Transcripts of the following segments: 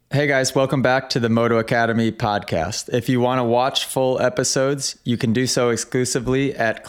Hey guys, welcome back to the Moto Academy podcast. If you want to watch full episodes, you can do so exclusively at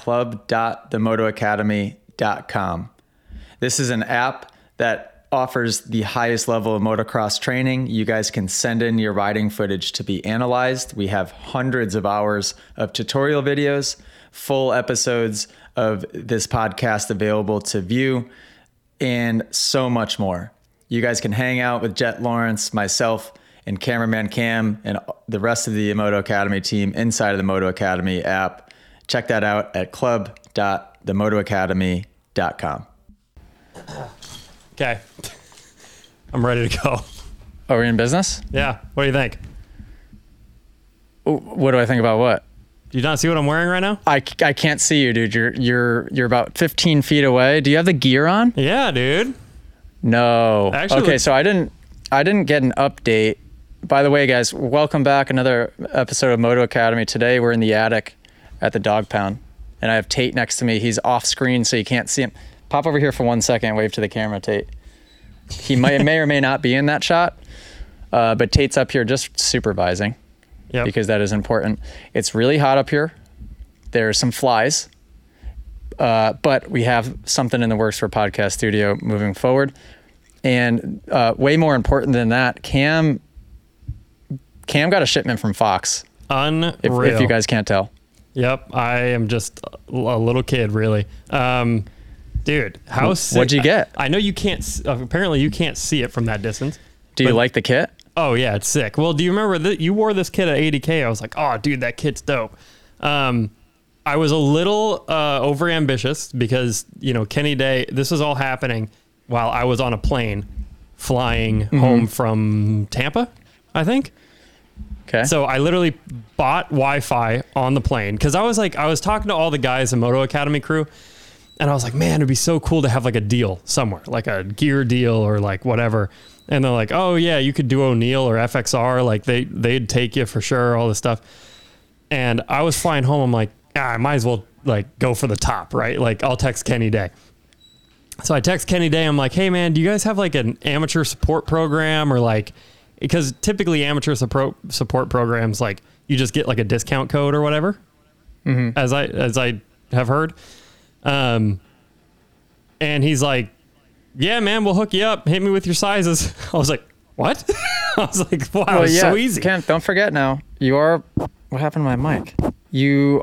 club.themotoacademy.com. This is an app that offers the highest level of motocross training. You guys can send in your riding footage to be analyzed. We have hundreds of hours of tutorial videos, full episodes of this podcast available to view, and so much more. You guys can hang out with Jet Lawrence, myself, and cameraman Cam, and the rest of the Moto Academy team inside of the Moto Academy app. Check that out at club.themotoacademy.com. Okay. I'm ready to go. Oh, we're in business? Yeah. What do you think? What do I think about what? Do you not see what I'm wearing right now? I can't see you, dude. You're about 15 feet away. Do you have the gear on? Yeah, dude. No. Actually, okay, so I didn't get an update. By the way, guys, welcome back. Another episode of Moto Academy. Today we're in the attic at the dog pound, and I have Tate next to me. He's off screen, so you can't see him. Pop over here for 1 second. Wave to the camera, Tate. He may or may not be in that shot, but Tate's up here just supervising because that is important. It's really hot up here. There's some flies. But we have something in the works for Podcast Studio moving forward. And way more important than that, Cam got a shipment from Fox. Unreal. If you guys can't tell. Yep. I am just a little kid, really. Dude, how sick. What'd you get? I know you can't, apparently you can't see it from that distance. Do you like the kit? Oh, yeah, it's sick. Well, do you remember that you wore this kit at 80K? I was like, oh, dude, that kit's dope. I was a little over ambitious because, Kenny Day, this was all happening while I was on a plane flying home from Tampa, I think. Okay. So I literally bought Wi-Fi on the plane because I was talking to all the guys in Moto Academy crew, and I was like, man, it'd be so cool to have like a deal somewhere, like a gear deal or like whatever. And they're like, oh yeah, you could do O'Neill or FXR. Like they'd take you for sure, all this stuff. And I was flying home. I'm like, I might as well like go for the top, right? Like I'll text Kenny Day. So I text Kenny Day. I'm like, hey man, do you guys have like an amateur support program or like, because typically amateur support programs, like you just get like a discount code or whatever, as I have heard. And he's like, yeah, man, we'll hook you up. Hit me with your sizes. I was like, what? I was like, wow, it's so easy. Cam, don't forget now, what happened to my mic? You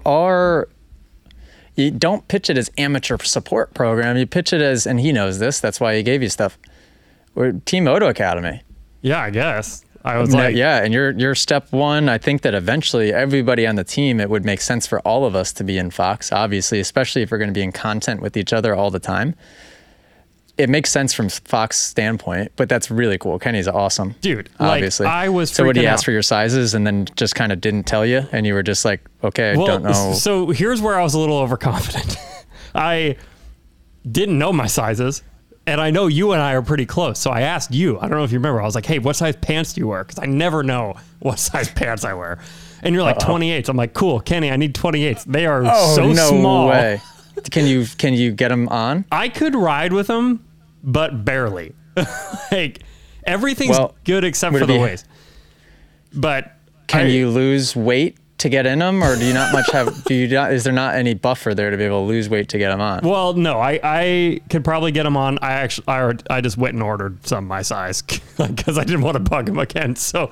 don't pitch it as amateur support program. You pitch it as, and he knows this, that's why he gave you stuff. We're Team Moto Academy. Yeah, I guess. I was like, yeah, and you're step one. I think that eventually everybody on the team, it would make sense for all of us to be in Fox, obviously, especially if we're going to be in content with each other all the time. It makes sense from Fox standpoint, but that's really cool. Kenny's awesome. Dude, obviously. Like, I was So what, he asked out for your sizes and then just kind of didn't tell you, and you were just like, okay, I don't know. So here's where I was a little overconfident. I didn't know my sizes, and I know you and I are pretty close. So I asked you, I don't know if you remember, I was like, hey, what size pants do you wear? Because I never know what size pants I wear. And you're like, 28s. I'm like, cool, Kenny, I need 28s. They are so small. No way. Can you get them on? I could ride with them, but barely. Like everything's good except for the waist. But can you lose weight to get in them, or do you not much have? Is there not any buffer there to be able to lose weight to get them on? Well, no, I could probably get them on. I just went and ordered some my size because I didn't want to bug him again. So,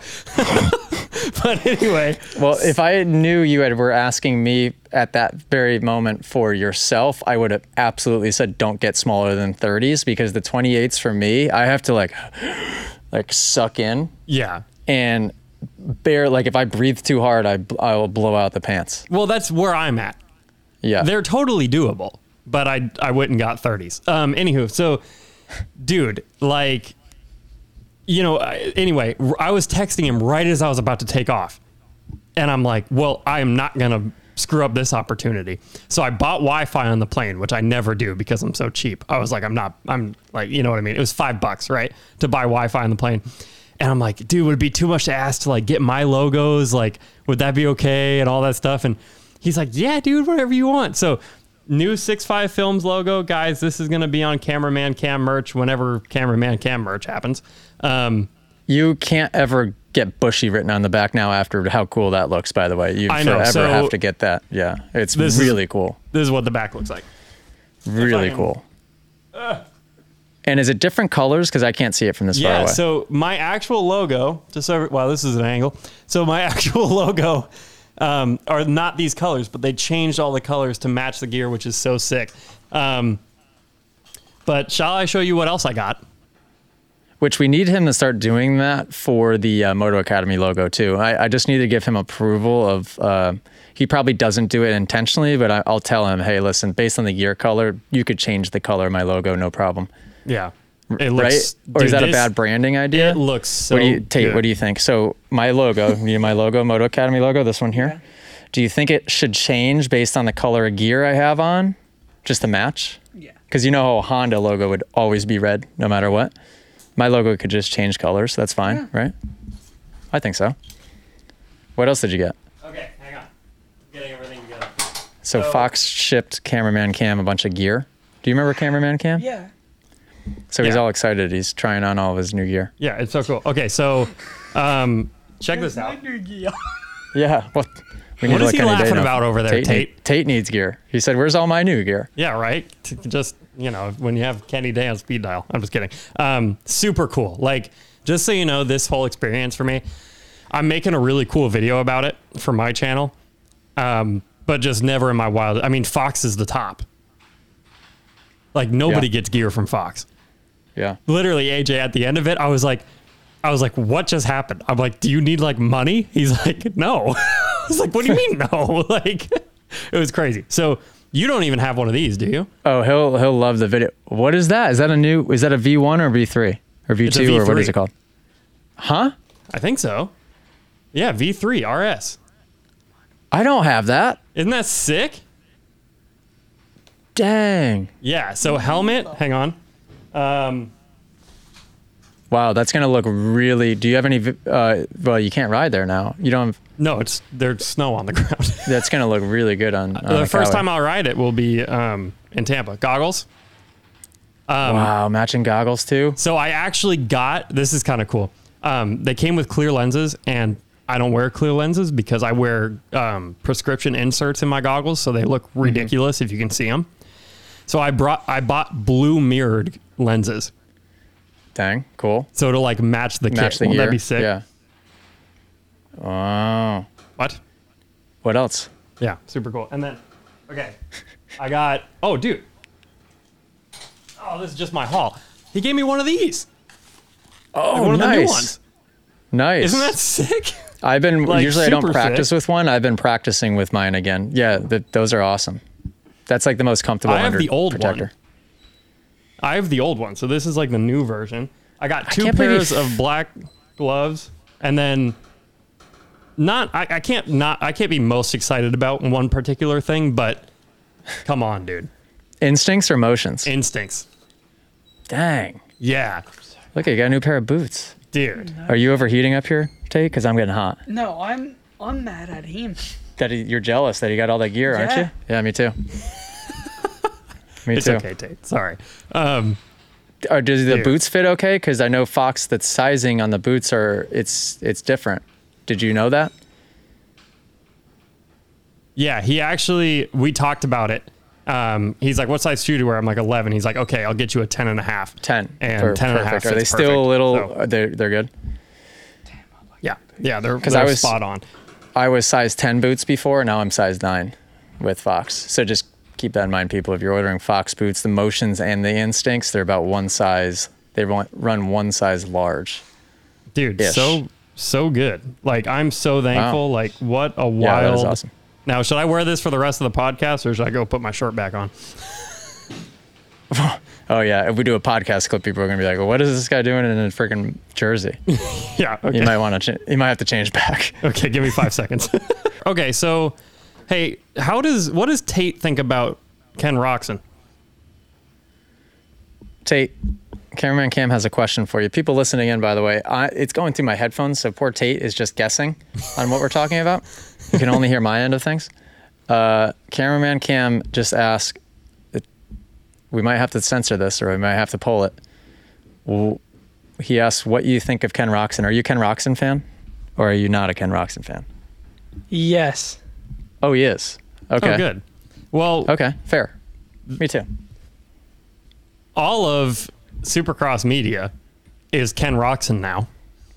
but anyway. Well, if I knew you were asking me at that very moment for yourself, I would have absolutely said don't get smaller than 30s, because the 28s for me, I have to like suck in. Yeah. And like if I breathe too hard, I will blow out the pants. Well, that's where I'm at. Yeah. They're totally doable, but I went and got 30s. Anywho, so dude, like, anyway, I was texting him right as I was about to take off. And I'm like, well, I am not going to screw up this opportunity. So I bought Wi-Fi on the plane, which I never do because I'm so cheap. I was like, I'm like, you know what I mean? It was $5, right? To buy Wi-Fi on the plane. And I'm like, dude, would it be too much to ask to like get my logos? Like, would that be okay? And all that stuff. And he's like, yeah, dude, whatever you want. So new 6.5 Films logo, guys, this is going to be on Cameraman Cam merch whenever Cameraman Cam merch happens. You can't ever get Bushy written on the back now after how cool that looks, by the way. You I know, forever so have to get that. Yeah. It's this really cool. This is what the back looks like. Really cool. And is it different colors? Because I can't see it from this far Yeah, away. so my actual logo, wow, this is an angle. So my actual logo are not these colors, but they changed all the colors to match the gear, which is so sick. But shall I show you what else I got? Which we need him to start doing that for the Moto Academy logo too. I just need to give him approval of, he probably doesn't do it intentionally, but I'll tell him, hey, listen, based on the gear color, you could change the color of my logo, no problem. Yeah. It Right? looks, Or is dude, that a bad branding idea? It looks so Tate, good. what do you think? So my logo, my logo, Moto Academy logo, this one here. Yeah. Do you think it should change based on the color of gear I have on? Just to match? Yeah. Because you know how a Honda logo would always be red no matter what. My logo could just change colors. That's fine, Yeah. right? I think so. What else did you get? Okay, hang on. I'm getting everything together. So So- Fox shipped Cameraman Cam a bunch of gear. Do you remember Cameraman Cam? Yeah. So he's Yeah. all excited. He's trying on all of his new gear. Yeah, it's so cool. Okay, so check this out. Yeah. What? We What is like he any day laughing now. about over there, Tate? Tate needs gear. He said, "Where's all my new gear?" Yeah, right. Just, when you have Kenny Day on speed dial. I'm just kidding. Super cool. Like, just so you know, this whole experience for me, I'm making a really cool video about it for my channel. But just never in my wild. I mean, Fox is the top. Like, nobody Yeah. gets gear from Fox. Yeah. Literally, AJ, at the end of it, I was like, what just happened? I'm like, do you need like money? He's like, no. I was like, what do you mean no? Like, it was crazy. So you don't even have one of these, do you? Oh, he'll love the video. What is that? Is that a V1 or V3 or It's a V2 or what is V3. it called? Huh? I think so. Yeah, V3 RS. I don't have that. Isn't that sick? Dang. Yeah. So helmet, hang on. Wow, that's gonna look really. Do you have any? Well, you can't ride there now. You don't. No, there's snow on the ground. That's gonna look really good on. The first time I'll ride it will be in Tampa. Goggles. Wow, matching goggles too. So I actually got, this is kind of cool. They came with clear lenses, and I don't wear clear lenses because I wear prescription inserts in my goggles, so they look ridiculous if you can see them. So I bought blue mirrored lenses, Dang, cool. so to like match the Match kit. the Won't gear. that be sick? Yeah. Wow. What? What else? Yeah, super cool. And then, okay, I got, oh, dude. Oh, this is just my haul. He gave me one of these. Oh, One of the new nice. ones. Nice. Isn't that sick? I've been like, usually I don't super practice sick? with one. I've been practicing with mine again. Yeah, those are awesome. That's like the most comfortable. I have under the old protector. one. I have the old one, so this is like the new version. I got two can't believe pairs of black gloves, and then I can't be most excited about one particular thing, but come on, dude. Instincts or motions? Instincts. Dang. Yeah. Look, you got a new pair of boots. Dude. Are you overheating up here, Tate? Because I'm getting hot. No, I'm mad at him. You're jealous that he got all that gear, aren't Yeah. you? Yeah, me too. Me It's too. okay, Tate. Sorry. Or does the Dude. boots fit okay? Because I know Fox, the sizing on the boots it's different. Did you know that? Yeah, we talked about it. He's like, what size shoe do you wear? I'm like 11. He's like, okay, I'll get you a 10 and a half. 10. And 10 and a half Perfect. Are they fits still perfect. a little? So- They're good. Yeah, they're I I was- spot on. I was size 10 boots before. Now I'm size 9 with Fox. So just keep that in mind, people. If you're ordering Fox boots, the motions and the instincts, they're about one size. They run one size large. Dude, Ish. so good. Like, I'm so thankful. Wow. Like, what a wild. Yeah, that is awesome. Now, should I wear this for the rest of the podcast, or should I go put my shirt back on? Oh yeah, if we do a podcast clip, people are gonna be like, well, "What is this guy doing in a freaking jersey?" Yeah. Okay. You might want to. You might have to change back. Okay, give me 5 seconds. Okay, so, hey, what does Tate think about Ken Roxon? Tate, Cameraman Cam has a question for you. People listening in, by the way, it's going through my headphones, so poor Tate is just guessing on what we're talking about. You can only hear my end of things. Cameraman Cam just asked, we might have to censor this or we might have to pull it. he asks what you think of Ken Roczen. Are you a Ken Roczen fan, or are you not a Ken Roczen fan? Yes. Oh, he is. Okay. Oh, good. Well, Okay, fair. Me too. all of Supercross media is Ken Roczen now.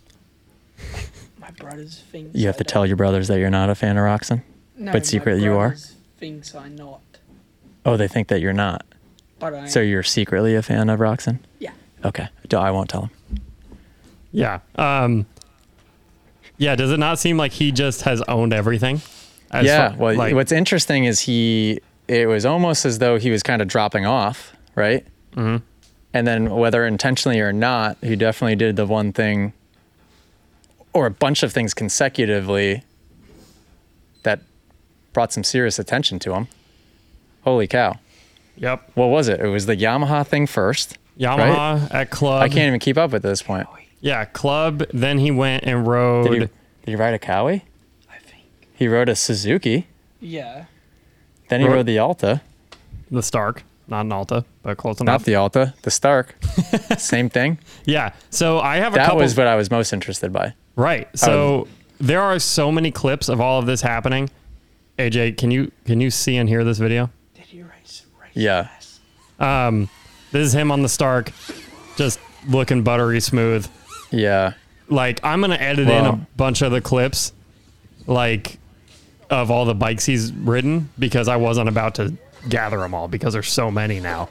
My brothers think. You have to tell your brothers that you're not a fan of Roczen. No, but secretly you are? Thinks I'm not, Oh, they think that you're not. but I. So you're secretly a fan of Roczen? Yeah. Okay. I won't tell him. Yeah. Yeah. Does it not seem like he just has owned everything? Yeah. Well, what's interesting is it was almost as though he was kind of dropping off, right? Mhm. And then whether intentionally or not, he definitely did the one thing or a bunch of things consecutively that brought some serious attention to him. Holy cow. Yep. What was it? It was the Yamaha thing first. Yamaha at Club. I can't even keep up at this point. Yeah, Club. Then he went and rode. Did he ride a Cowie? I think. He rode a Suzuki. Yeah. Then he Rode- rode the Alta. the Stark, not an Alta, but close Not enough. the Alta, the Stark. Same thing. Yeah. So I have a That couple. was what I was most interested by. Right. So there are so many clips of all of this happening. AJ, can you see and hear this video? Did he race? Yeah. fast? This is him on the Stark, just looking buttery smooth. Yeah. Like, I'm gonna edit in a Wow. bunch of the clips, like, of all the bikes he's ridden, because I wasn't about to gather them all because there's so many now.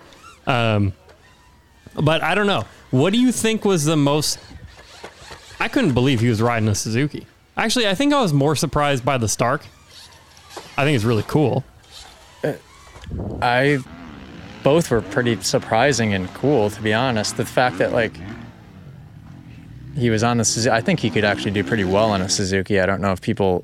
But I don't know. What do you think was the most? I couldn't believe he was riding a Suzuki. Actually, I think I was more surprised by the Stark. I think it's really cool. Both were pretty surprising and cool, to be honest. The fact that, like, he was on the Suzuki, I think he could actually do pretty well on a Suzuki. I don't know if people.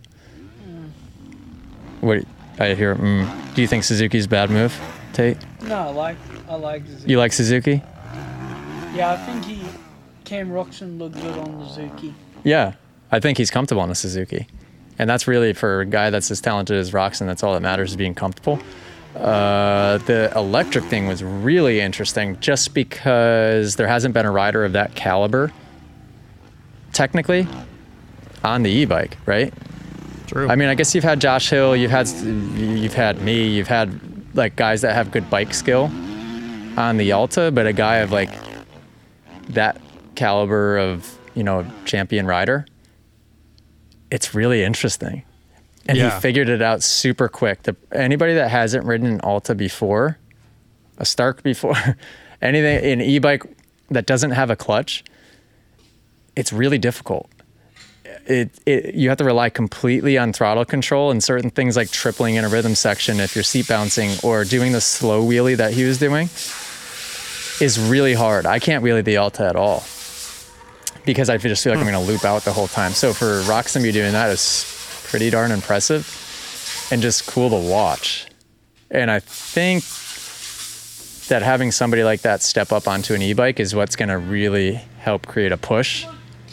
What I hear? Do you think Suzuki's a bad move, Tate? No, I like Suzuki. You like Suzuki? Yeah, I think Cam Roczen looked good on the Suzuki. Yeah, I think he's comfortable on a Suzuki, and that's really for a guy that's as talented as Roczen. That's all that matters, is being comfortable. The electric thing was really interesting, just because there hasn't been a rider of that caliber, technically, on the e-bike, right? True. I mean, I guess you've had Josh Hill, you've had me, you've had like guys that have good bike skill on the Alta, but a guy of like that caliber of, champion rider, it's really interesting. And Yeah. he figured it out super quick. Anybody that hasn't ridden an Alta before, a Stark before, anything, an e-bike that doesn't have a clutch, it's really difficult. You have to rely completely on throttle control and certain things like tripling in a rhythm section if you're seat bouncing, or doing the slow wheelie that he was doing is really hard. I can't wheelie the Alta at all because I just feel like I'm going to loop out the whole time. So for Roczen to be doing that is pretty darn impressive and just cool to watch. And I think that having somebody like that step up onto an e-bike is what's going to really help create a push.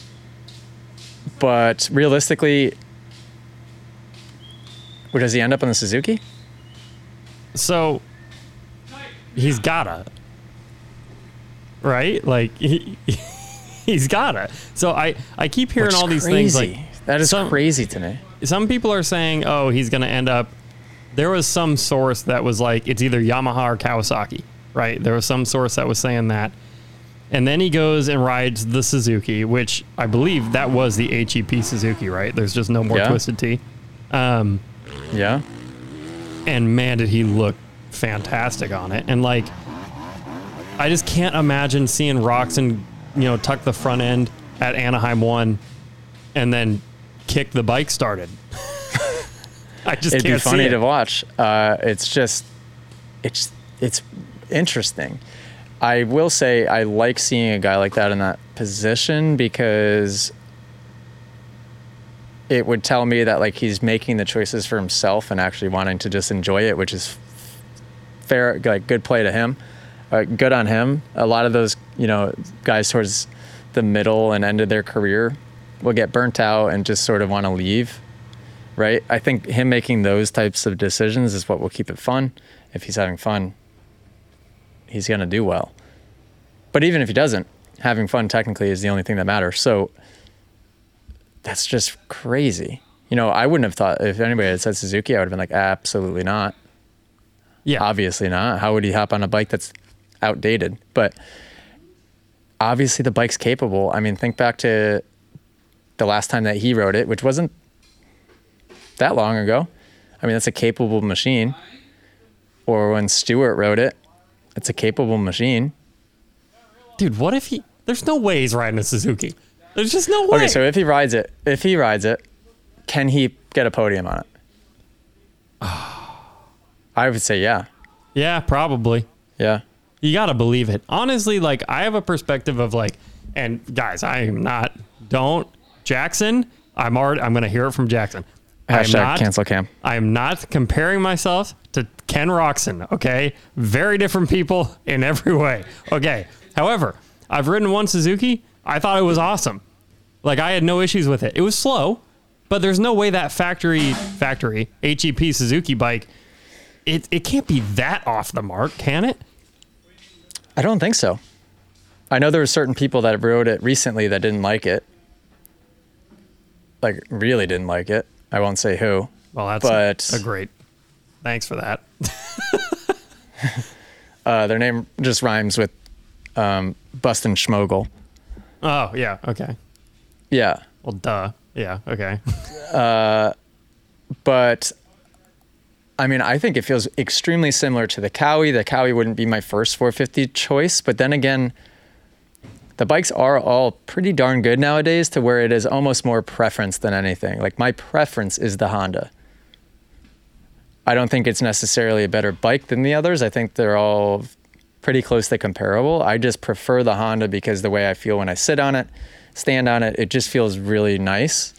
But realistically, where does he end up on the Suzuki? So he's gotta, right? Like he's gotta. So I keep hearing Which is all these things like crazy. That is crazy to me. some people are saying, oh, he's gonna end up. There was some source that was like it's either Yamaha or Kawasaki, right? There was some source that was saying that. And then he goes and rides the Suzuki, which I believe that was the HEP Suzuki, right? There's just no more Yeah. Twisted Tea. Yeah. And man, did he look fantastic on it. And like, I just can't imagine seeing Roczen, tuck the front end at Anaheim 1 and then kick the bike started. I just It'd can't be funny see it. to watch. It's interesting. I will say I like seeing a guy like that in that position because it would tell me that like he's making the choices for himself and actually wanting to just enjoy it, which is fair, like good play to him. Good on him. A lot of those, guys towards the middle and end of their career will get burnt out and just sort of want to leave, right? I think him making those types of decisions is what will keep it fun. If he's having fun, he's going to do well. But even if he doesn't, having fun technically is the only thing that matters. So that's just crazy. You know, I wouldn't have thought, if anybody had said Suzuki, I would have been like, absolutely not. Yeah. Obviously not. How would he hop on a bike that's outdated? But obviously the bike's capable. I mean, think back to the last time that he rode it, which wasn't that long ago. I mean, that's a capable machine. Or when Stewart rode it, it's a capable machine. Dude, what if there's no way he's riding a Suzuki. There's just no way. Okay, so if he rides it, can he get a podium on it? I would say yeah. Yeah, probably. Yeah. You got to believe it. Honestly, like, I have a perspective of like, and guys, Jackson, I'm going to hear it from Jackson. Hashtag cancel Cam. I am not comparing myself to Ken Roxon, okay? Very different people in every way. Okay. However, I've ridden one Suzuki. I thought it was awesome. Like, I had no issues with it. It was slow, but there's no way that factory HEP Suzuki bike, it can't be that off the mark, can it? I don't think so. I know there were certain people that rode it recently that didn't like it. Like, really didn't like it. I won't say who. Well, that's a great. Thanks for that. Their name just rhymes with Bustin' Schmogel. Oh, yeah. Okay. Yeah. Well, duh. Yeah. Okay. But I mean, I think it feels extremely similar to the Cowie. The Cowie wouldn't be my first 450 choice, but then again, the bikes are all pretty darn good nowadays to where it is almost more preference than anything. Like, my preference is the Honda. I don't think it's necessarily a better bike than the others. I think they're all pretty closely comparable. I just prefer the Honda because the way I feel when I sit on it, stand on it, it just feels really nice.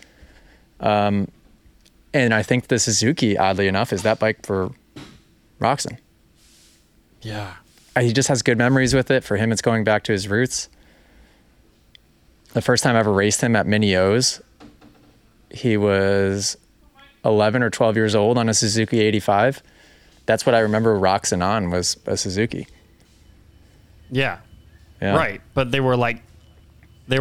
And I think the Suzuki, oddly enough, is that bike for Roxon. Yeah. He just has good memories with it. For him, it's going back to his roots. The first time I ever raced him at Mini O's, he was 11 or 12 years old on a Suzuki 85. That's what I remember Roxon on, was a Suzuki. Yeah. Yeah. Right. But they were it. They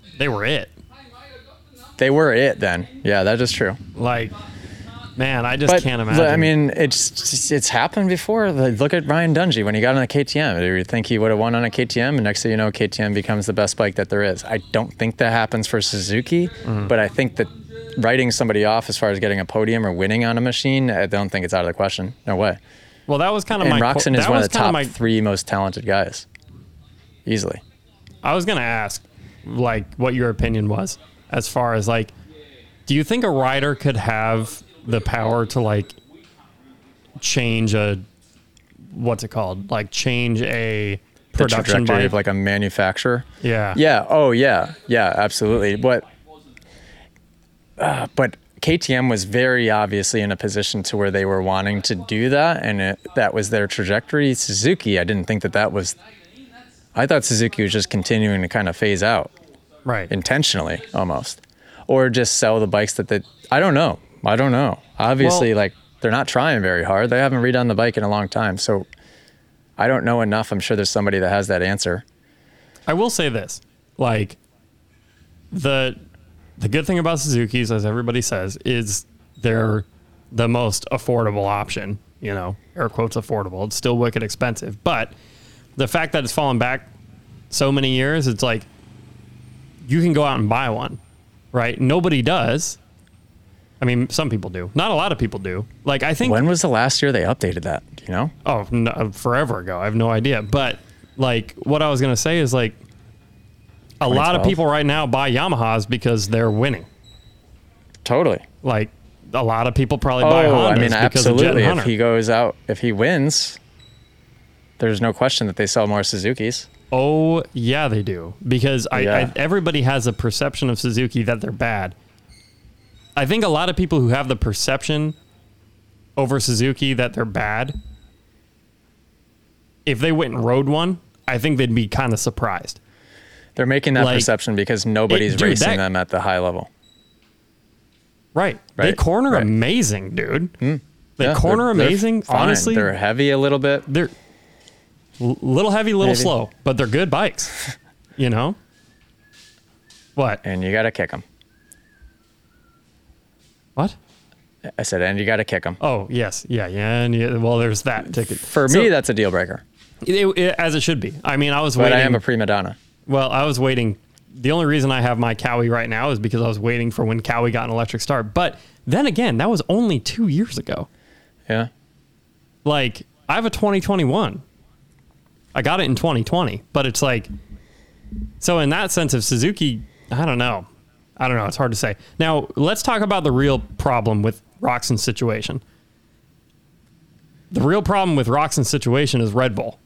were it then. Yeah, that is true. Like, man, I just can't imagine. I mean, it's happened before. Like, look at Ryan Dungey when he got on a KTM. Do you think he would have won on a KTM? And next thing you know, KTM becomes the best bike that there is. I don't think that happens for Suzuki, but I think that writing somebody off as far as getting a podium or winning on a machine, I don't think it's out of the question. No way. Well, that was kind of and Roxon is one of the top three most talented guys. Easily. I was going to ask, like, what your opinion was as far as, like, do you think a rider could have the power to, like, change a, what's it called? Like, change a production trajectory bike? Of like a manufacturer? Yeah. Yeah. Oh, yeah. Yeah, absolutely. But KTM was very obviously in a position to where they were wanting to do that, and that was their trajectory. Suzuki, I didn't think that was... I thought Suzuki was just continuing to kind of phase out. Right. Intentionally, almost. Or just sell the bikes I don't know. Obviously, like, they're not trying very hard. They haven't redone the bike in a long time, so I don't know enough. I'm sure there's somebody that has that answer. I will say this. Like, the good thing about Suzukis, as everybody says, is they're the most affordable option. You know, air quotes affordable. It's still wicked expensive. But the fact that it's fallen back so many years, it's like you can go out and buy one, right? Nobody does. I mean, some people do. Not a lot of people do. Like, I think... When was the last year they updated that? Do you know? Oh, no, forever ago. I have no idea. But, like, what I was going to say is, like, a lot of people right now buy Yamahas because they're winning. Totally. Like, a lot of people probably buy Hondas because of Jet and Hunter. If he goes out, if he wins, there's no question that they sell more Suzukis. Oh, yeah, they do. Because everybody has a perception of Suzuki that they're bad. I think a lot of people who have the perception over Suzuki that they're bad, if they went and rode one, I think they'd be kind of surprised. They're making that perception because nobody's racing them at the high level. Right. They corner amazing, dude. They corner amazing. Fine. Honestly, they're heavy a little bit. They're little heavy, little slow, but they're good bikes. You know? What? And you got to kick him. What? I said, and you got to kick him. Oh, yes. Yeah. Well, there's that ticket. For me, that's a deal breaker. As it should be. I mean, I was But waiting. I am a prima donna. Well, I was waiting. The only reason I have my Cowie right now is because I was waiting for when Cowie got an electric start. But then again, that was only 2 years ago. Yeah. Like, I have a 2021. I got it in 2020. But it's like, so in that sense of Suzuki, I don't know. It's hard to say. Now, let's talk about the real problem with Roczen's situation. The real problem with Roczen's situation is Red Bull.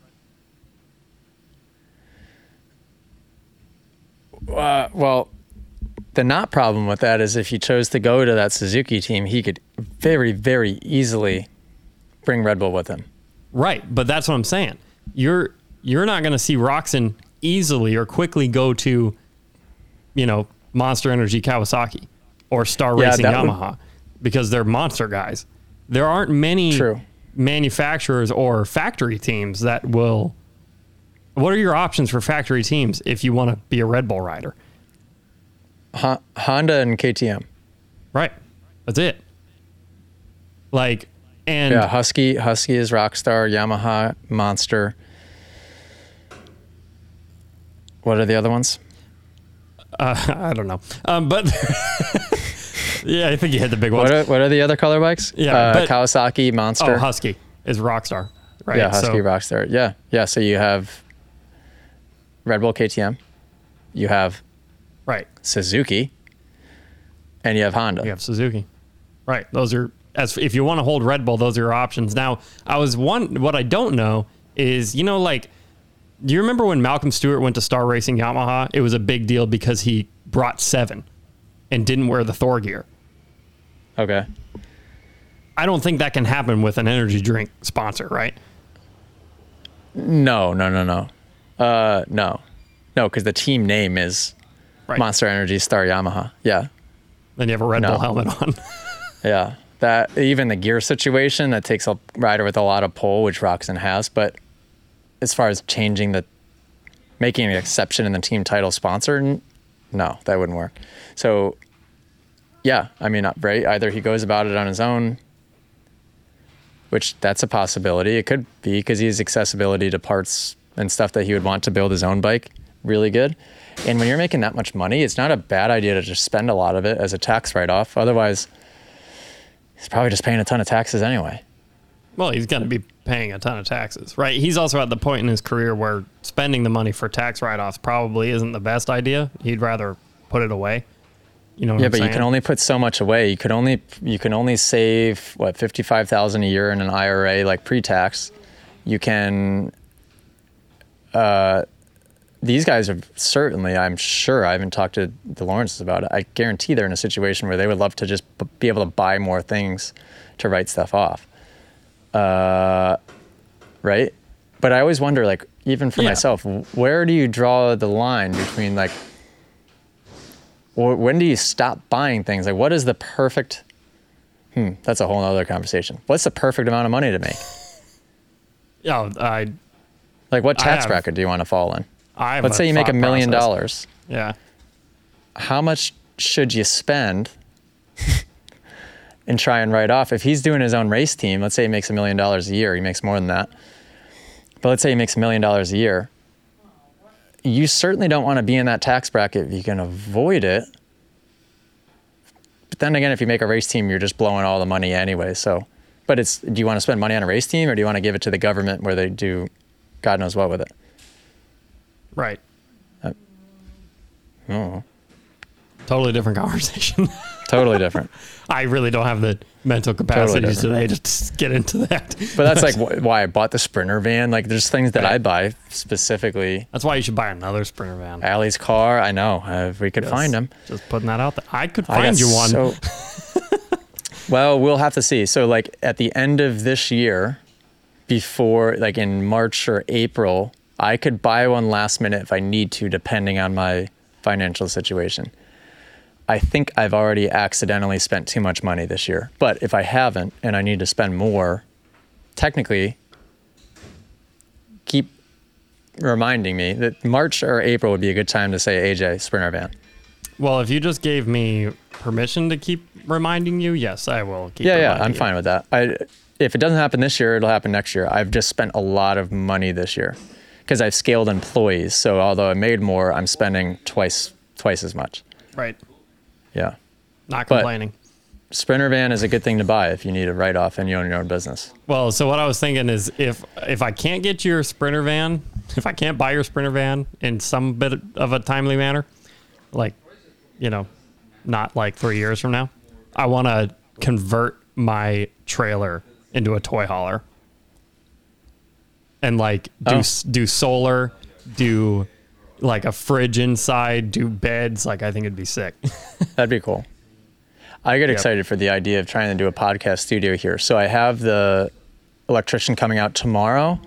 Well, the not problem with that is if he chose to go to that Suzuki team, he could very, very easily bring Red Bull with him. Right, but that's what I'm saying. You're not going to see Roczen easily or quickly go to, Monster Energy Kawasaki or Star Racing Yamaha because they're monster guys. There aren't many manufacturers or factory teams that will. What are your options for factory teams if you want to be a Red Bull rider? Honda and KTM. Right. That's it. Husky is Rockstar, Yamaha, Monster. What are the other ones? I don't know. But yeah, I think you hit the big ones. What are the other color bikes? Yeah, Kawasaki, Monster. Oh, Husky is Rockstar. Right. Yeah, Husky, Rockstar. Yeah. Yeah. So you have Red Bull, KTM. You have Suzuki, and you have Honda. You have Suzuki. Right. Those are, if you want to hold Red Bull, those are your options. Now, what I don't know is, do you remember when Malcolm Stewart went to Star Racing Yamaha? It was a big deal because he brought 7 and didn't wear the Thor gear. Okay. I don't think that can happen with an energy drink sponsor, right? No. No, because the team name is Monster Energy Star Yamaha. Yeah. Then you have a Red Bull helmet on. Yeah. That even the gear situation, that takes a rider with a lot of pull, which Roczen has. But as far as making an exception in the team title sponsor, no, that wouldn't work. So, yeah, I mean, right? Either he goes about it on his own, which that's a possibility. It could be because he has accessibility to parts and stuff that he would want to build his own bike really good. And when you're making that much money, it's not a bad idea to just spend a lot of it as a tax write-off. Otherwise, he's probably just paying a ton of taxes anyway. Well, he's going to be paying a ton of taxes, right? He's also at the point in his career where spending the money for tax write-offs probably isn't the best idea. He'd rather put it away. You know what I'm saying? You can only put so much away. You can only save $55,000 a year in an IRA, like pre-tax. You can. These guys are certainly, I'm sure, I haven't talked to the Lawrences about it. I guarantee they're in a situation where they would love to just be able to buy more things to write stuff off. Right? But I always wonder, even for myself, where do you draw the line between when do you stop buying things? What is the perfect, that's a whole other conversation. What's the perfect amount of money to make? What tax bracket do you want to fall in? Let's say you make $1 million. Yeah. How much should you spend and try and write off? If he's doing his own race team, let's say he makes $1 million a year. He makes more than that. But let's say he makes $1 million a year. You certainly don't want to be in that tax bracket if you can avoid it. But then again, if you make a race team, you're just blowing all the money anyway. So, but do you want to spend money on a race team or do you want to give it to the government where they do God knows what with it? Right. Oh. Totally different conversation. Totally different. I really don't have the mental capacity today to get into that. But that's why I bought the Sprinter van. There's things that I buy specifically. That's why you should buy another Sprinter van. Allie's car, I know. If we could find him. Just putting that out there. I could find you one. Well, we'll have to see. So at the end of this year, before in March or April, I could buy one last minute if I need to, depending on my financial situation. I think I've already accidentally spent too much money this year. But if I haven't and I need to spend more, technically, reminding me that March or April would be a good time to say AJ Sprinter van. Well, if you just gave me permission to keep reminding you, yes, I will keep Yeah, reminding I'm you. fine with that. If it doesn't happen this year, it'll happen next year. I've just spent a lot of money this year because I've scaled employees. So although I made more, I'm spending twice as much. Right. Yeah. Not But- complaining. Sprinter van is a good thing to buy if you need a write-off and you own your own business. Well, so what I was thinking is if I can't get your Sprinter van, if I can't buy your Sprinter van in some bit of a timely manner, like, you know, not like 3 years from now, I want to convert my trailer into a toy hauler and like do solar, do like a fridge inside, do beds. Like, I think it'd be sick. That'd be cool. I get excited for the idea of trying to do a podcast studio here. So I have the electrician coming out tomorrow.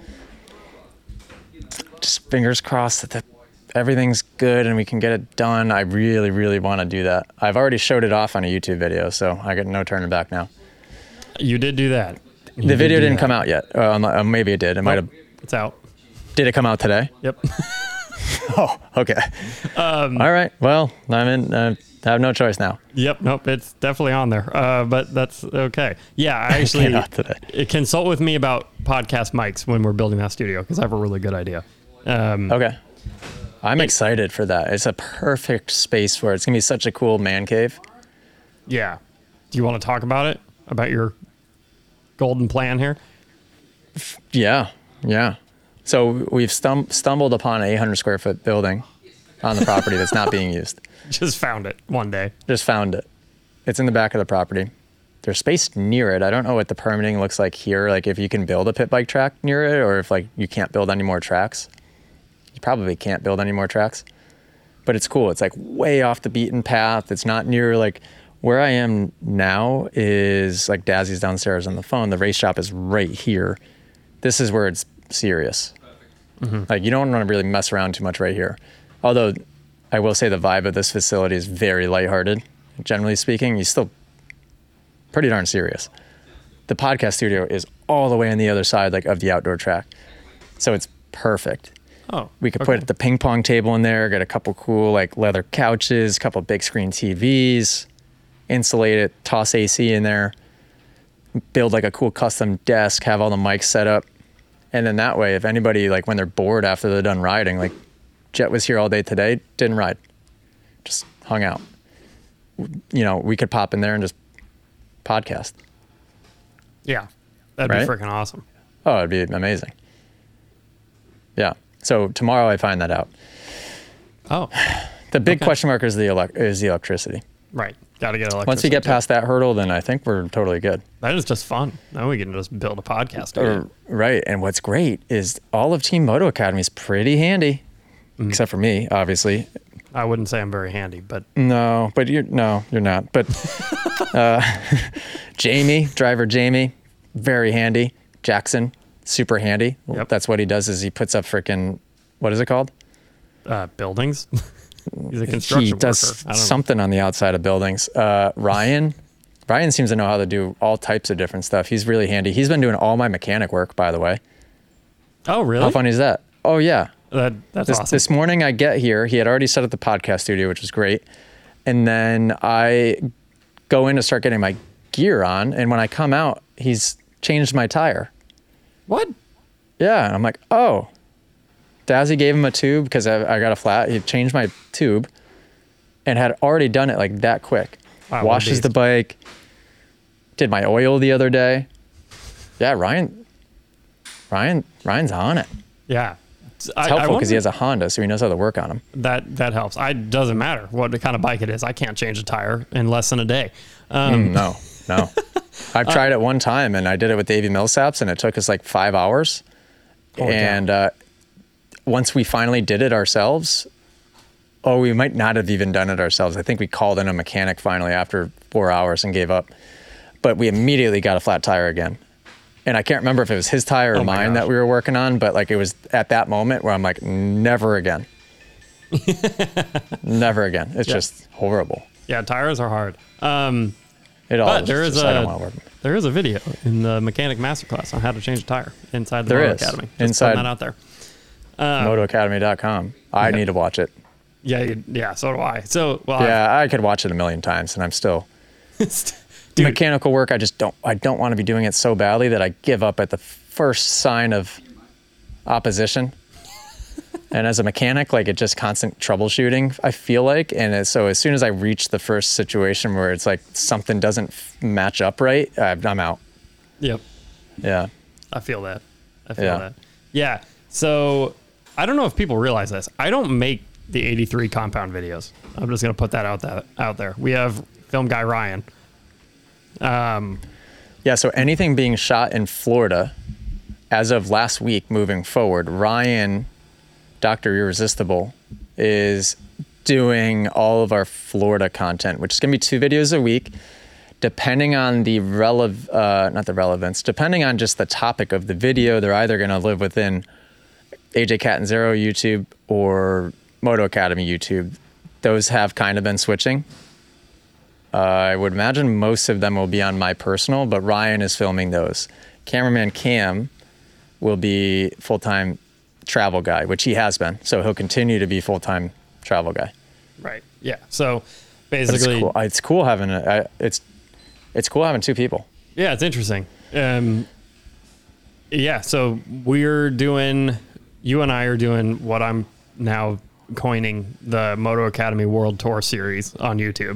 Just fingers crossed that everything's good and we can get it done. I really, really want to do that. I've already showed it off on a YouTube video, so I got no turning back now. You did do that. The video didn't come out yet. Maybe it did. It might have. It's out. Did it come out today? Yep. Oh, okay. All right. Well, I have no choice now. Yep. Nope. It's definitely on there. But that's okay. Yeah. I actually Came out today. consult with me about podcast mics when we're building that studio because I have a really good idea. Okay. I'm excited for that. It's a perfect space for it. It's going to be such a cool man cave. Yeah. Do you want to talk about it? About your golden plan here? Yeah. Yeah. So we've stumbled upon an 800 square foot building on the property that's not being used. Just found it one day. Just found it. It's in the back of the property. There's space near it. I don't know what the permitting looks like here. Like if you can build a pit bike track near it or if like you can't build any more tracks. You probably can't build any more tracks. But it's cool. It's like way off the beaten path. It's not near like where I am now is like Dazzy's downstairs on the phone. The race shop is right here. This is where it's serious. Mm-hmm. Like you don't want to really mess around too much right here. Although I will say the vibe of this facility is very lighthearted. Generally speaking, you're still pretty darn serious. The podcast studio is all the way on the other side like of the outdoor track. So it's perfect. Oh, We could put the ping pong table in there, get a couple cool like leather couches, couple big screen TVs, insulate it, toss AC in there, build like a cool custom desk, have all the mics set up. And then that way, if anybody like when they're bored after they're done riding, like Jet was here all day today, didn't ride, just hung out. You know, we could pop in there and just podcast. Yeah. That'd Right? be freaking awesome. Oh, it'd be amazing. Yeah. So tomorrow I find that out. Oh, The big Okay. question mark is the electricity. right. Got to get electricity. Once we get too. past that hurdle, then I think we're totally good. That is just fun. Now we can just build a podcast. studio. Right. And what's great is all of Team Moto Academy is pretty handy, except for me, obviously. I wouldn't say I'm very handy, but No, but you're not. But Jamie, driver Jamie, very handy. Jackson, super handy. Yep. That's what he does is he puts up freaking, what is it called? buildings. He's a construction He worker. does I don't something on the outside of buildings. Ryan seems to know how to do all types of different stuff. He's really handy. He's been doing all my mechanic work, by the way. know. Oh, really? How funny is that? Oh, yeah. That's awesome. This morning I get here. He had already set up the podcast studio, which was great. And then I go in to start getting my gear on. And when I come out, he's changed my tire. What? Yeah. And I'm like, oh. Dazzy gave him a tube because I got a flat. He changed my tube and had already done it like that quick. Wow, what a Washes the beast. bike. Did my oil the other day. Yeah, Ryan's on it. Yeah. It's helpful because he has a Honda, so he knows how to work on them. That helps. Doesn't matter what kind of bike it is. I can't change a tire in less than a day. No. I've tried it one time, and I did it with Davey Millsaps, and it took us like 5 hours. Holy cow. And once we finally did it ourselves, we might not have even done it ourselves. I think we called in a mechanic finally after 4 hours and gave up. But we immediately got a flat tire again. And I can't remember if it was his tire or Oh my mine gosh. that we were working on, but like it was at that moment where I'm like, never again. Never again. It's Yeah. just horrible. Yeah, tires are hard. It all But is there is just, I don't want to work. there is a video in the mechanic masterclass on how to change a tire inside the There Moto is. Academy. Just Inside- putting that out there. MotoAcademy.com. I need to watch it. Yeah, so do I. So, well, Yeah, I could watch it a million times, and I'm still Dude. mechanical work. I don't want to be doing it so badly that I give up at the first sign of opposition. And as a mechanic, like, it's just constant troubleshooting, I feel like. And so as soon as I reach the first situation where it's like something doesn't match up right, I'm out. Yep. Yeah. I feel that. Yeah. So I don't know if people realize this. I don't make the 83 compound videos. I'm just going to put that out there. We have film guy Ryan. Yeah. So anything being shot in Florida, as of last week moving forward, Ryan, Dr. Irresistible, is doing all of our Florida content, which is going to be 2 videos a week, depending on the not the relevance, depending on just the topic of the video. They're either going to live within AJ Catanzaro YouTube or Moto Academy YouTube. Those have kind of been switching. I would imagine most of them will be on my personal, but Ryan is filming those. Cameraman Cam will be full-time travel guy, which he has been. So he'll continue to be full-time travel guy. Right. Yeah. So basically, it's cool having it's cool having 2 people. Yeah, it's interesting. Yeah. So you and I are doing what I'm now coining the Moto Academy World Tour series on YouTube.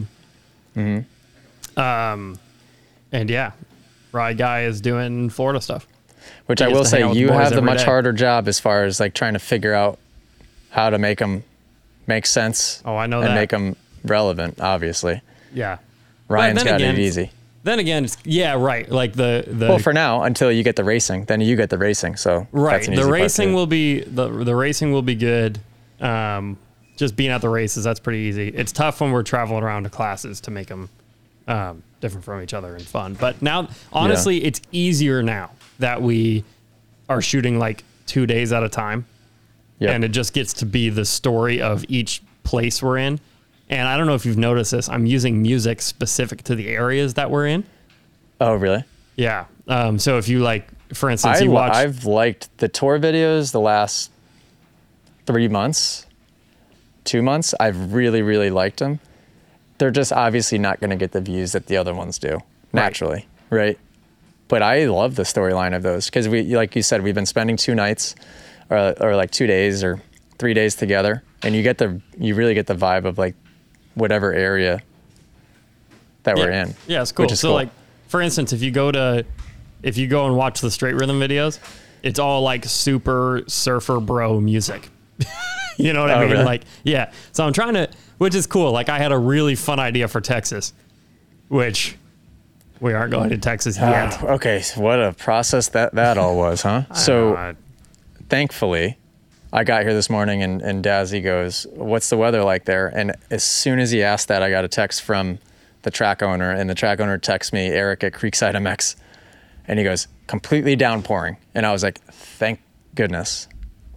And yeah, Ride Guy is doing Florida stuff. Which I will say, you have the much harder job as far as like trying to figure out how to make them make sense. Oh, I know and that. make them relevant, obviously. Yeah. Ryan's got it easy. Then again, yeah, right. Like the well, for now, until you get the racing, then you get the racing. So right, that's an easy the part racing too. will be the racing will be good. Just being at the races, that's pretty easy. It's tough when we're traveling around to classes to make them different from each other and fun. But now, honestly, it's easier now that we are shooting like 2 days at a time. Yep. And it just gets to be the story of each place we're in. And I don't know if you've noticed this, I'm using music specific to the areas that we're in. Oh, really? Yeah. So if you like, for instance, I've liked the tour videos the last 3 months, 2 months. I've really, really liked them. They're just obviously not going to get the views that the other ones do naturally. Right. But I love the storyline of those because like you said, we've been spending 2 nights or like 2 days or 3 days together, and you really get the vibe of like whatever area that we're in. Yeah, it's cool. So cool. like, for instance, if you go and watch the Straight Rhythm videos, it's all like super surfer bro music. You know what I mean? Really? Like, yeah. So I'm trying to, which is cool. Like I had a really fun idea for Texas, which we aren't going to Texas yet. Okay. So what a process that all was, huh? So thankfully I got here this morning and Dazzy goes, "What's the weather like there?" And as soon as he asked that, I got a text from the track owner, and the track owner texts me, Eric at Creekside MX, and he goes, "Completely downpouring." And I was like, thank goodness.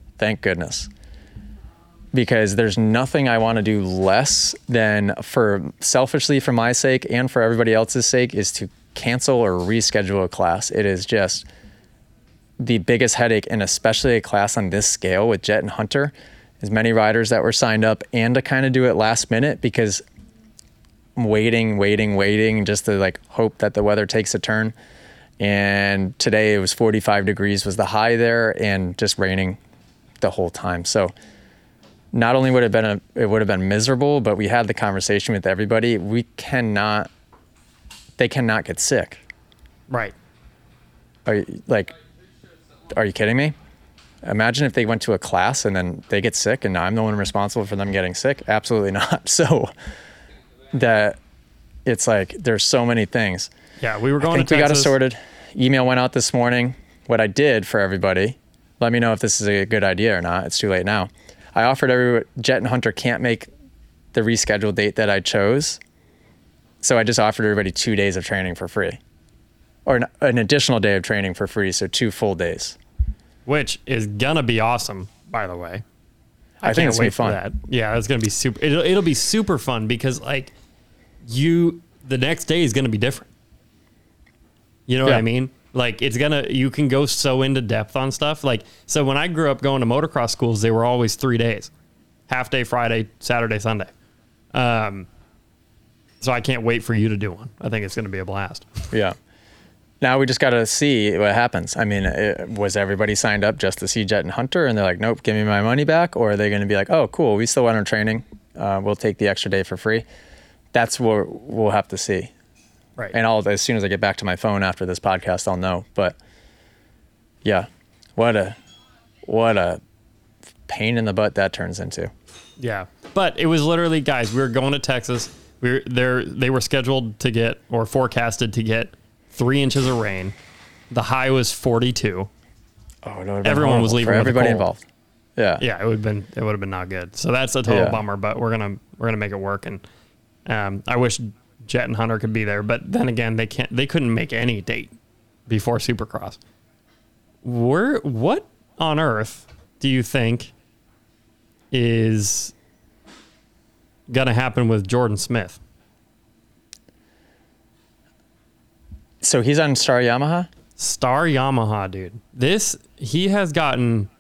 Because there's nothing I want to do less than, selfishly for my sake and for everybody else's sake, is to cancel or reschedule a class. It is just the biggest headache, and especially a class on this scale with Jet and Hunter, as many riders that were signed up, and to kind of do it last minute because I'm waiting just to like hope that the weather takes a turn. And today it was 45 degrees was the high there, and just raining the whole time. So not only would it would have been miserable, but we had the conversation with everybody. They cannot get sick. Right. Are you kidding me? Imagine if they went to a class and then they get sick and I'm the one responsible for them getting sick. Absolutely not. So that it's like, there's so many things. Yeah. We were going I think to Texas. We got it sorted. Email went out this morning. What I did for everybody, let me know if this is a good idea or not. It's too late now. I offered everyone, Jet and Hunter can't make the rescheduled date that I chose. So I just offered everybody 2 days of training for free, or an additional day of training for free. So 2 full days. Which is gonna be awesome, by the way. I think it's gonna be fun. That. Yeah, it's gonna be super. It'll be super fun because like the next day is gonna be different. You know what I mean? Like you can go so into depth on stuff. Like, so when I grew up going to motocross schools, they were always 3 days, half day Friday, Saturday, Sunday. So I can't wait for you to do one. I think it's going to be a blast. Yeah. Now we just got to see what happens. I mean, was everybody signed up just to see Jet and Hunter and they're like, nope, give me my money back? Or are they going to be like, oh, cool, we still want our training. We'll take the extra day for free. That's what we'll have to see. Right. And as soon as I get back to my phone after this podcast, I'll know. But yeah, what a pain in the butt that turns into. Yeah. But it was literally, guys, we were going to Texas. They were scheduled to get, or forecasted to get, 3 inches of rain. The high was 42. Oh, it would have been Everyone was horrible leaving for with a everybody cold. involved. Yeah. Yeah, it would have been not good. So that's a total bummer, but we're gonna make it work. And I wish Jet and Hunter could be there, but then again, they couldn't make any date before Supercross. What on earth do you think is gonna happen with Jordan Smith? So he's on Star Yamaha? Star Yamaha, dude. He has gotten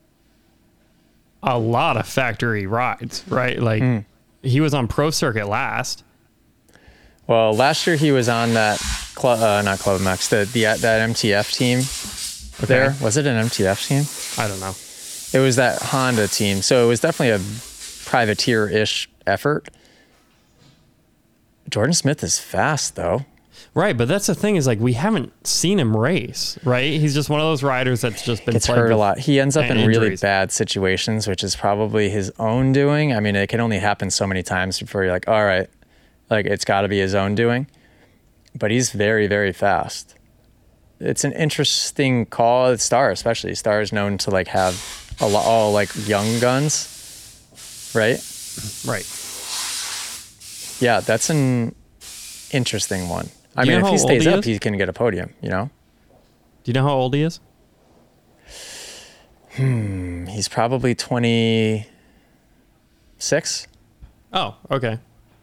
a lot of factory rides, right? Like he was on Pro Circuit last. Well, last year he was on that not Club Max, that MTF team. Okay. There was it an MTF team? I don't know. It was that Honda team, so it was definitely a privateer-ish effort. Jordan Smith is fast though. Right, but that's the thing is like we haven't seen him race, right? He's just one of those riders that's just been Gets plagued hurt a with lot. He ends up in really injuries. bad situations, which is probably his own doing. I mean, it can only happen so many times before you're like, all right, like it's got to be his own doing. But he's very, very fast. It's an interesting call at Star, especially. Star is known to like have all like young guns, right? Right. Yeah, that's an interesting one. I Do you mean, know if he how old stays he up, is? he can get a podium, you know? Do you know how old he is? He's probably 26. Oh, okay.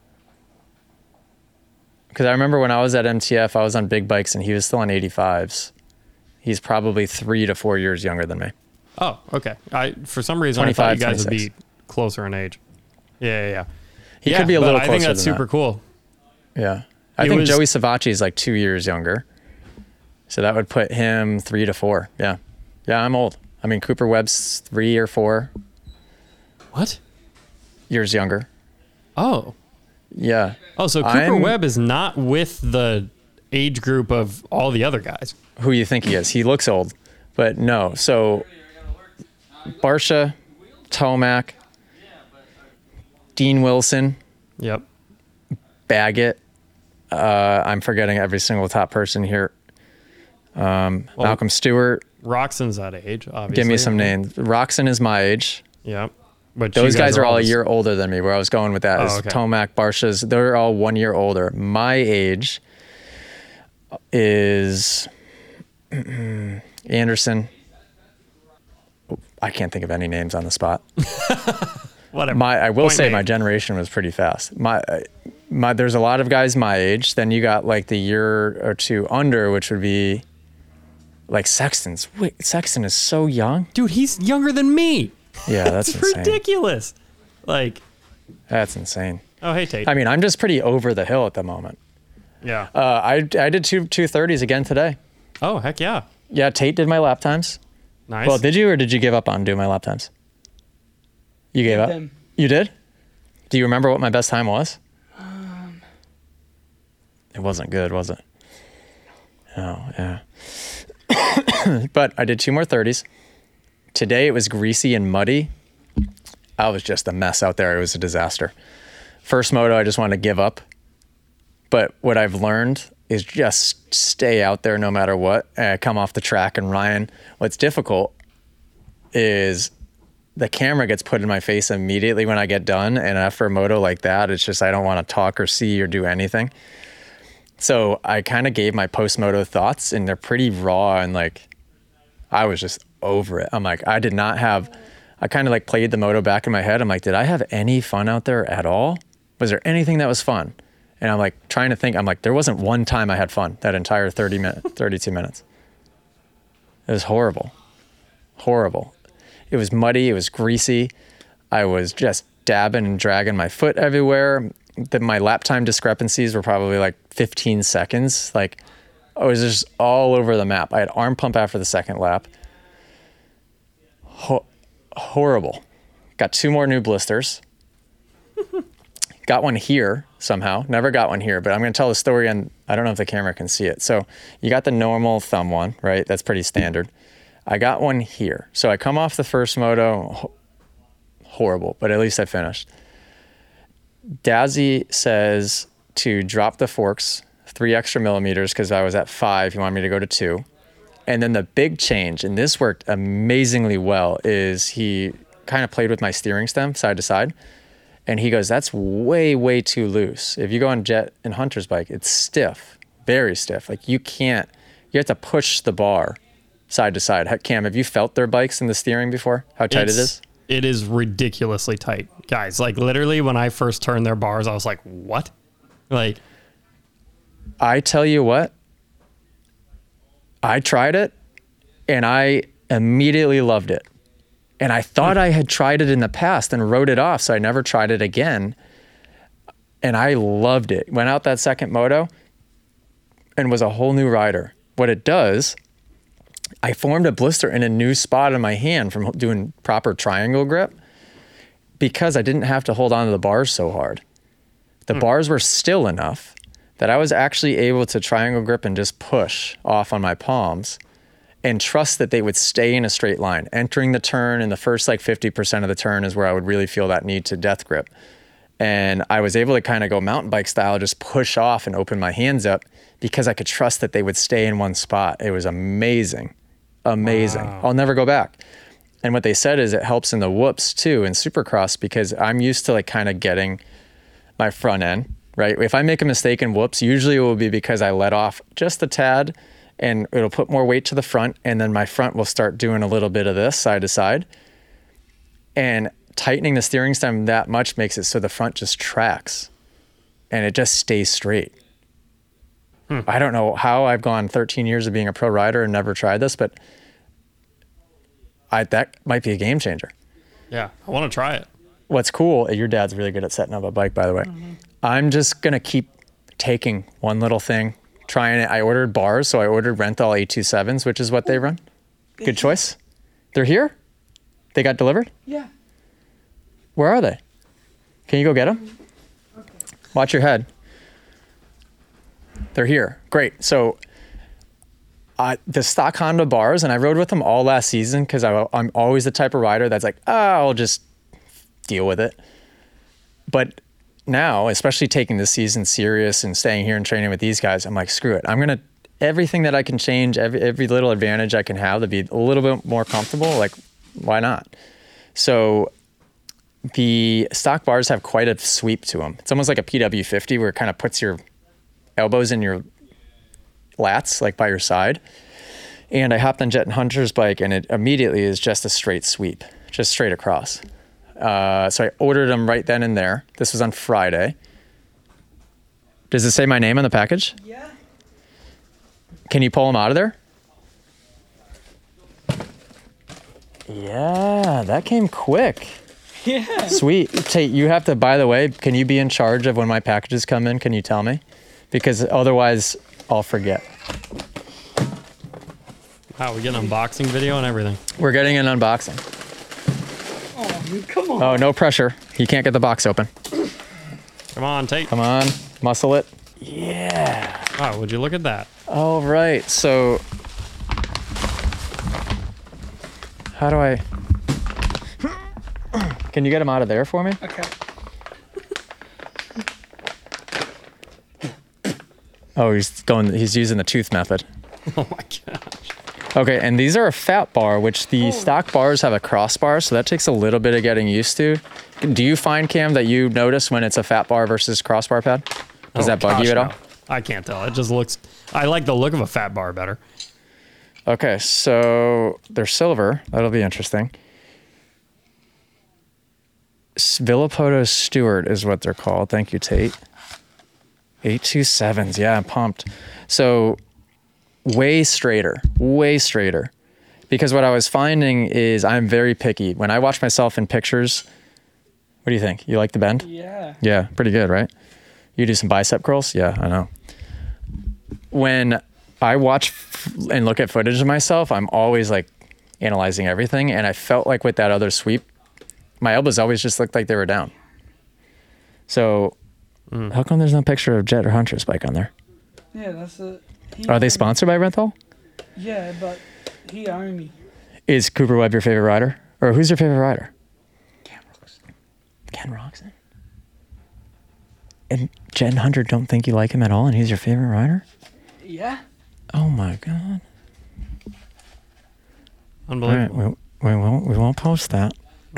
Because I remember when I was at MTF, I was on big bikes and he was still on 85s. He's probably 3 to 4 years younger than me. Oh, okay. For some reason I thought 25, you guys 26. would be closer in age. Yeah. He could be a but little I closer think that's than super that. cool. Yeah. I It think was- Joey Savacci is like 2 years younger. So that would put him 3 to 4. Yeah. Yeah, I'm old. I mean, Cooper Webb's 3 or 4 What? years younger. Oh. Yeah. Oh, so Cooper Webb is not with the age group of all the other guys. Who you think he is? He looks old, but no. So Barsha, Tomac, Dean Wilson, Yep. Baggett. I'm forgetting every single top person here. Malcolm Stewart. Roxon's that age, obviously. Give me some names. Roxon is my age. Yep. But Those you guys are all a always- year older than me. Where I was going with that is okay. Tomac, Barsha's. They're all 1 year older. My age is Anderson. I can't think of any names on the spot. Whatever. I will Point say made. my generation was pretty fast. There's a lot of guys my age. Then you got like the year or two under, which would be like Sexton's. Wait, Sexton is so young. Dude, he's younger than me. Yeah, that's It's insane. ridiculous. Like, That's insane. oh, hey, Tate. I mean, I'm just pretty over the hill at the moment. Yeah. I did 2:30s again today. Oh, heck yeah. Yeah, Tate did my lap times. Nice. Well, did you or did you give up on doing my lap times? You gave up? them. You did? Do you remember what my best time was? It wasn't good, was it? Oh, yeah. But I did 2 more 30s. Today it was greasy and muddy. I was just a mess out there. It was a disaster. First moto, I just wanted to give up. But what I've learned is just stay out there no matter what. And I come off the track and Ryan, what's difficult is the camera gets put in my face immediately when I get done. And after a moto like that, it's just I don't want to talk or see or do anything. So I kind of gave my post-moto thoughts and they're pretty raw and like I was just over it. I'm like, I kind of like played the moto back in my head. I'm like, did I have any fun out there at all? Was there anything that was fun? And I'm like trying to think, I'm like, there wasn't one time I had fun that entire 32 minutes. It was horrible. Horrible. It was muddy. It was greasy. I was just dabbing and dragging my foot everywhere. My lap time discrepancies were probably like 15 seconds. Like, I was just all over the map. I had arm pump after the second lap. Horrible. Got 2 more new blisters. Got one here somehow. Never got one here, but I'm going to tell the story, and I don't know if the camera can see it. So you got the normal thumb one, right? That's pretty standard. I got one here. So I come off the first moto, horrible, but at least I finished. Dazzy says to drop the forks 3 extra millimeters because I was at 5. He wanted me to go to 2. And then the big change, and this worked amazingly well, is he kind of played with my steering stem side to side. And he goes, that's way, way too loose. If you go on Jet and Hunter's bike, it's stiff, very stiff. Like you have to push the bar side to side. Cam, have you felt their bikes in the steering before? How tight it is? It is ridiculously tight, guys. Like literally when I first turned their bars, I was like, what? Like, I tell you what, I tried it and I immediately loved it. And I thought I had tried it in the past and wrote it off, so I never tried it again. And I loved it. Went out that second moto and was a whole new rider. What it does, I formed a blister in a new spot in my hand from doing proper triangle grip because I didn't have to hold on to the bars so hard. The bars were still enough that I was actually able to triangle grip and just push off on my palms and trust that they would stay in a straight line. Entering the turn in the first like 50% of the turn is where I would really feel that need to death grip. And I was able to kind of go mountain bike style, just push off and open my hands up because I could trust that they would stay in one spot. It was amazing, amazing. Wow. I'll never go back. And what they said is it helps in the whoops too in Supercross because I'm used to like kind of getting my front end, right? If I make a mistake in whoops, usually it will be because I let off just a tad and it'll put more weight to the front, and then my front will start doing a little bit of this side to side. And tightening the steering stem that much makes it so the front just tracks and it just stays straight. I don't know how I've gone 13 years of being a pro rider and never tried this, but that might be a game changer. Yeah, I want to try it. What's cool, your dad's really good at setting up a bike, by the way. I'm just going to keep taking one little thing, trying it. I ordered bars, so I ordered Renthal 827s, which is what they run. Good choice. They're here? They got delivered? Yeah. Where are they? Can you go get them? Okay. Watch your head. They're here. Great. So the stock Honda bars, and I rode with them all last season because I'm always the type of rider that's like, I'll just deal with it. But now, especially taking this season serious and staying here and training with these guys, I'm like, screw it. I'm going to, everything that I can change, every little advantage I can have to be a little bit more comfortable, like, why not? So the stock bars have quite a sweep to them. It's almost like a PW50 where it kind of puts your elbows in your lats, like by your side. And I hopped on Jet and Hunter's bike and it immediately is just a straight sweep, just straight across. So I ordered them right then and there. This was on Friday. Does it say my name on the package? Yeah. Can you pull them out of there? Yeah, that came quick. Yeah. Sweet. Tate, you have to, by the way, can you be in charge of when my packages come in? Can you tell me? Because otherwise I'll forget. Wow, we get an unboxing video and everything. We're getting an unboxing. Oh, come on. Oh, no pressure. He can't get the box open. Come on, Tate. Come on, muscle it. Yeah. Wow, would you look at that? All right, so how do I, can you get him out of there for me? Okay. Oh, he's using the tooth method. Oh my gosh. Okay, and these are a fat bar, which the stock bars have a crossbar, so that takes a little bit of getting used to. Do you find, Cam, that you notice when it's a fat bar versus crossbar pad? Does that bug you at all? No. I can't tell. It just looks, I like the look of a fat bar better. Okay, so they're silver. That'll be interesting. Villapoto Stewart is what they're called. Thank you, Tate. 827s. Yeah, I'm pumped. So way straighter, way straighter. Because what I was finding is I'm very picky. When I watch myself in pictures, what do you think? You like the bend? Yeah. Yeah, pretty good, right? You do some bicep curls? Yeah, I know. When I watch and look at footage of myself, I'm always like analyzing everything. And I felt like with that other sweep, my elbows always just looked like they were down. So how come there's no picture of Jet or Hunter's bike on there? Yeah, that's it. Are they sponsored by Renthal? Yeah, but he owned me. Is Cooper Webb your favorite rider? Or who's your favorite rider? Cam Roxon. Ken Roxon. And Jet and Hunter don't think you like him at all and he's your favorite rider? Yeah. Oh my God. Unbelievable. All right, we won't post that.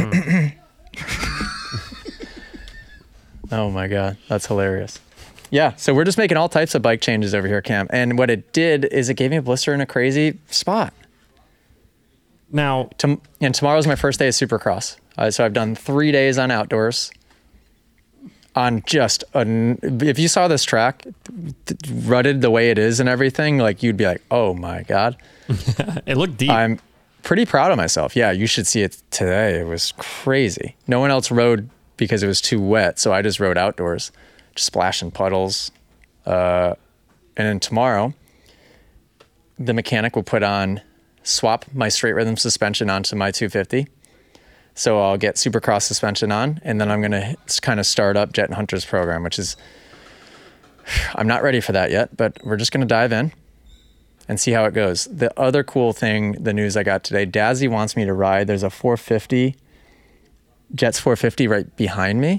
Oh my God, that's hilarious. Yeah, so we're just making all types of bike changes over here, Cam. And what it did is it gave me a blister in a crazy spot. Now, And tomorrow's my first day of Supercross. So I've done 3 days on outdoors. On just, if you saw this track, rutted the way it is and everything, like you'd be like, oh my God. it looked deep. I'm pretty proud of myself. Yeah, you should see it today. It was crazy. No one else rode because it was too wet, so I just rode outdoors, just splashing puddles. And then tomorrow, the mechanic will swap my straight rhythm suspension onto my 250. So I'll get Supercross suspension on, and then I'm going to kind of start up Jet and Hunter's program, which is, I'm not ready for that yet, but we're just going to dive in and see how it goes. The other cool thing, the news I got today, Dazzy wants me to ride. There's a 450, Jet's 450 right behind me.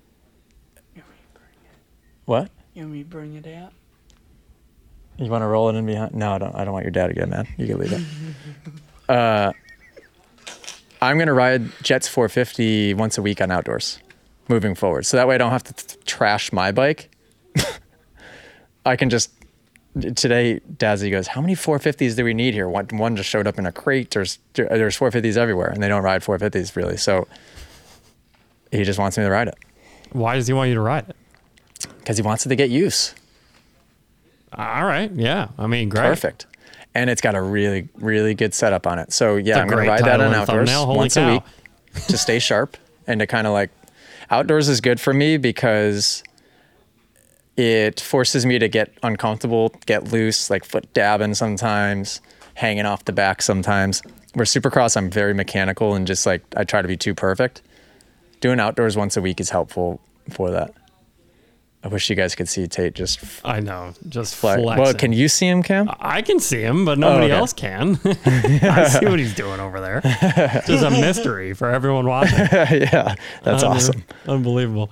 What? You want me to bring it out? You want to roll it in behind? No, I don't want your dad to get mad. You can leave it. I'm going to ride Jet's 450 once a week on outdoors moving forward. So that way I don't have to trash my bike. I can just, today, Dazzy goes, how many 450s do we need here? One just showed up in a crate. There's 450s everywhere, and they don't ride 450s really. So he just wants me to ride it. Why does he want you to ride it? Because he wants it to get use. All right. Yeah. I mean, great. Perfect. And it's got a really, really good setup on it. So yeah, It's a I'm going to great ride that title on and outdoors thumbnail. Holy once cow. a week to stay sharp and to kind of like, outdoors is good for me because it forces me to get uncomfortable, get loose, like foot dabbing sometimes, hanging off the back sometimes. Where Supercross, I'm very mechanical and just like, I try to be too perfect. Doing outdoors once a week is helpful for that. I wish you guys could see Tate just I know. Just flex. flexing. Well, can you see him, Cam? I can see him, but nobody okay. else can. I see what he's doing over there. It's just a mystery for everyone watching. Yeah, that's awesome. Unbelievable.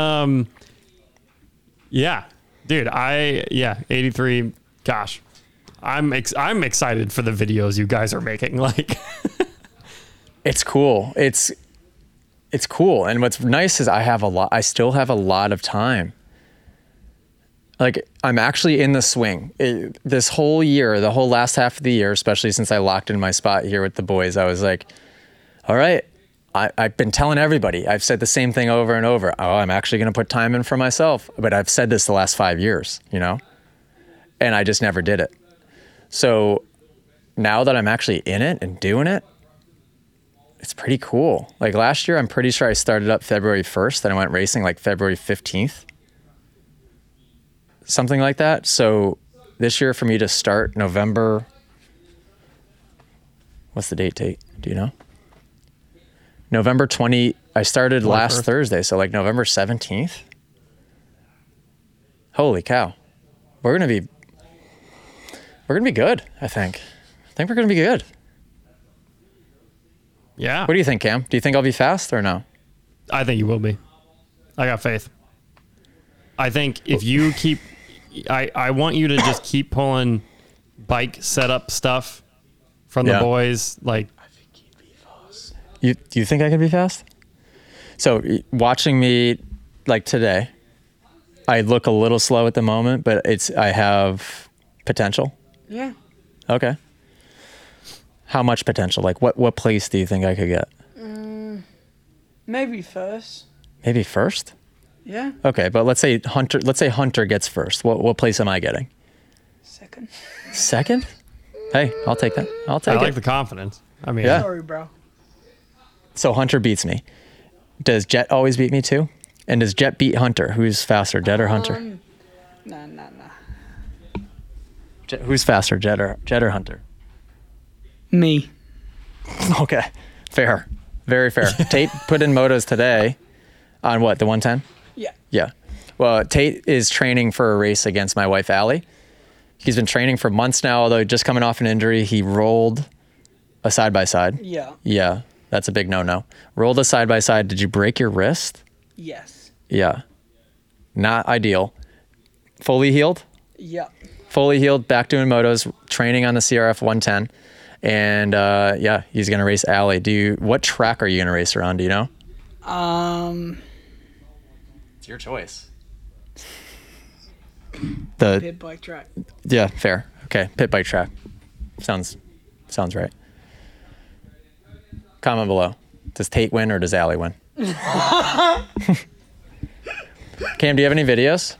Yeah, dude. 83. Gosh, I'm excited for the videos you guys are making. Like, it's cool. It's cool. And what's nice is I still have a lot of time. Like, I'm actually in the swing. This whole year, the whole last half of the year, especially since I locked in my spot here with the boys, I was like, all right, I've been telling everybody. I've said the same thing over and over. Oh, I'm actually going to put time in for myself. But I've said this the last 5 years, you know? And I just never did it. So now that I'm actually in it and doing it, it's pretty cool. Like last year, I'm pretty sure I started up February 1st and I went racing like February 15th. Something like that. So this year for me to start November, what's the date, Tate? Do you know? November 20, I started last Thursday. So like November 17th. Holy cow. We're going to be good, I think. I think we're going to be good. yeah. What do you think, Cam? Do you think I'll be fast or no? I think you will be. I got faith. I think if you keep, I want you to just keep pulling bike setup stuff from the boys. Like, I think he'd be fast. Do you think I can be fast? So watching me like today, I look a little slow at the moment, but I have potential. Yeah. Okay. How much potential? Like what place do you think I could get? Maybe first. Maybe first? Yeah. Okay, but let's say Hunter gets first. What place am I getting? Second. Second? Hey, I'll take that. I'll I take like it. the confidence. I mean, Yeah. Sorry, bro. So Hunter beats me. Does Jet always beat me too? And does Jet beat Hunter? Who's faster, Jet or Hunter? Nah. Who's faster, Jet or Hunter? Me. Okay, fair, very fair. Tate put in motos today on what, the 110? Yeah. Yeah. Well, Tate is training for a race against my wife, Allie. He's been training for months now, although just coming off an injury. He rolled a side-by-side. Yeah. Yeah, that's a big no-no. Rolled a side-by-side. Did you break your wrist? Yes. Yeah. Not ideal. Fully healed? Yeah. Fully healed, back doing motos, training on the CRF 110. And yeah, he's going to race Allie. What track are you going to race her on? Do you know? It's your choice. Pit bike track. Yeah, fair. Okay, pit bike track. Sounds right. Comment below. Does Tate win or does Allie win? Cam, do you have any videos?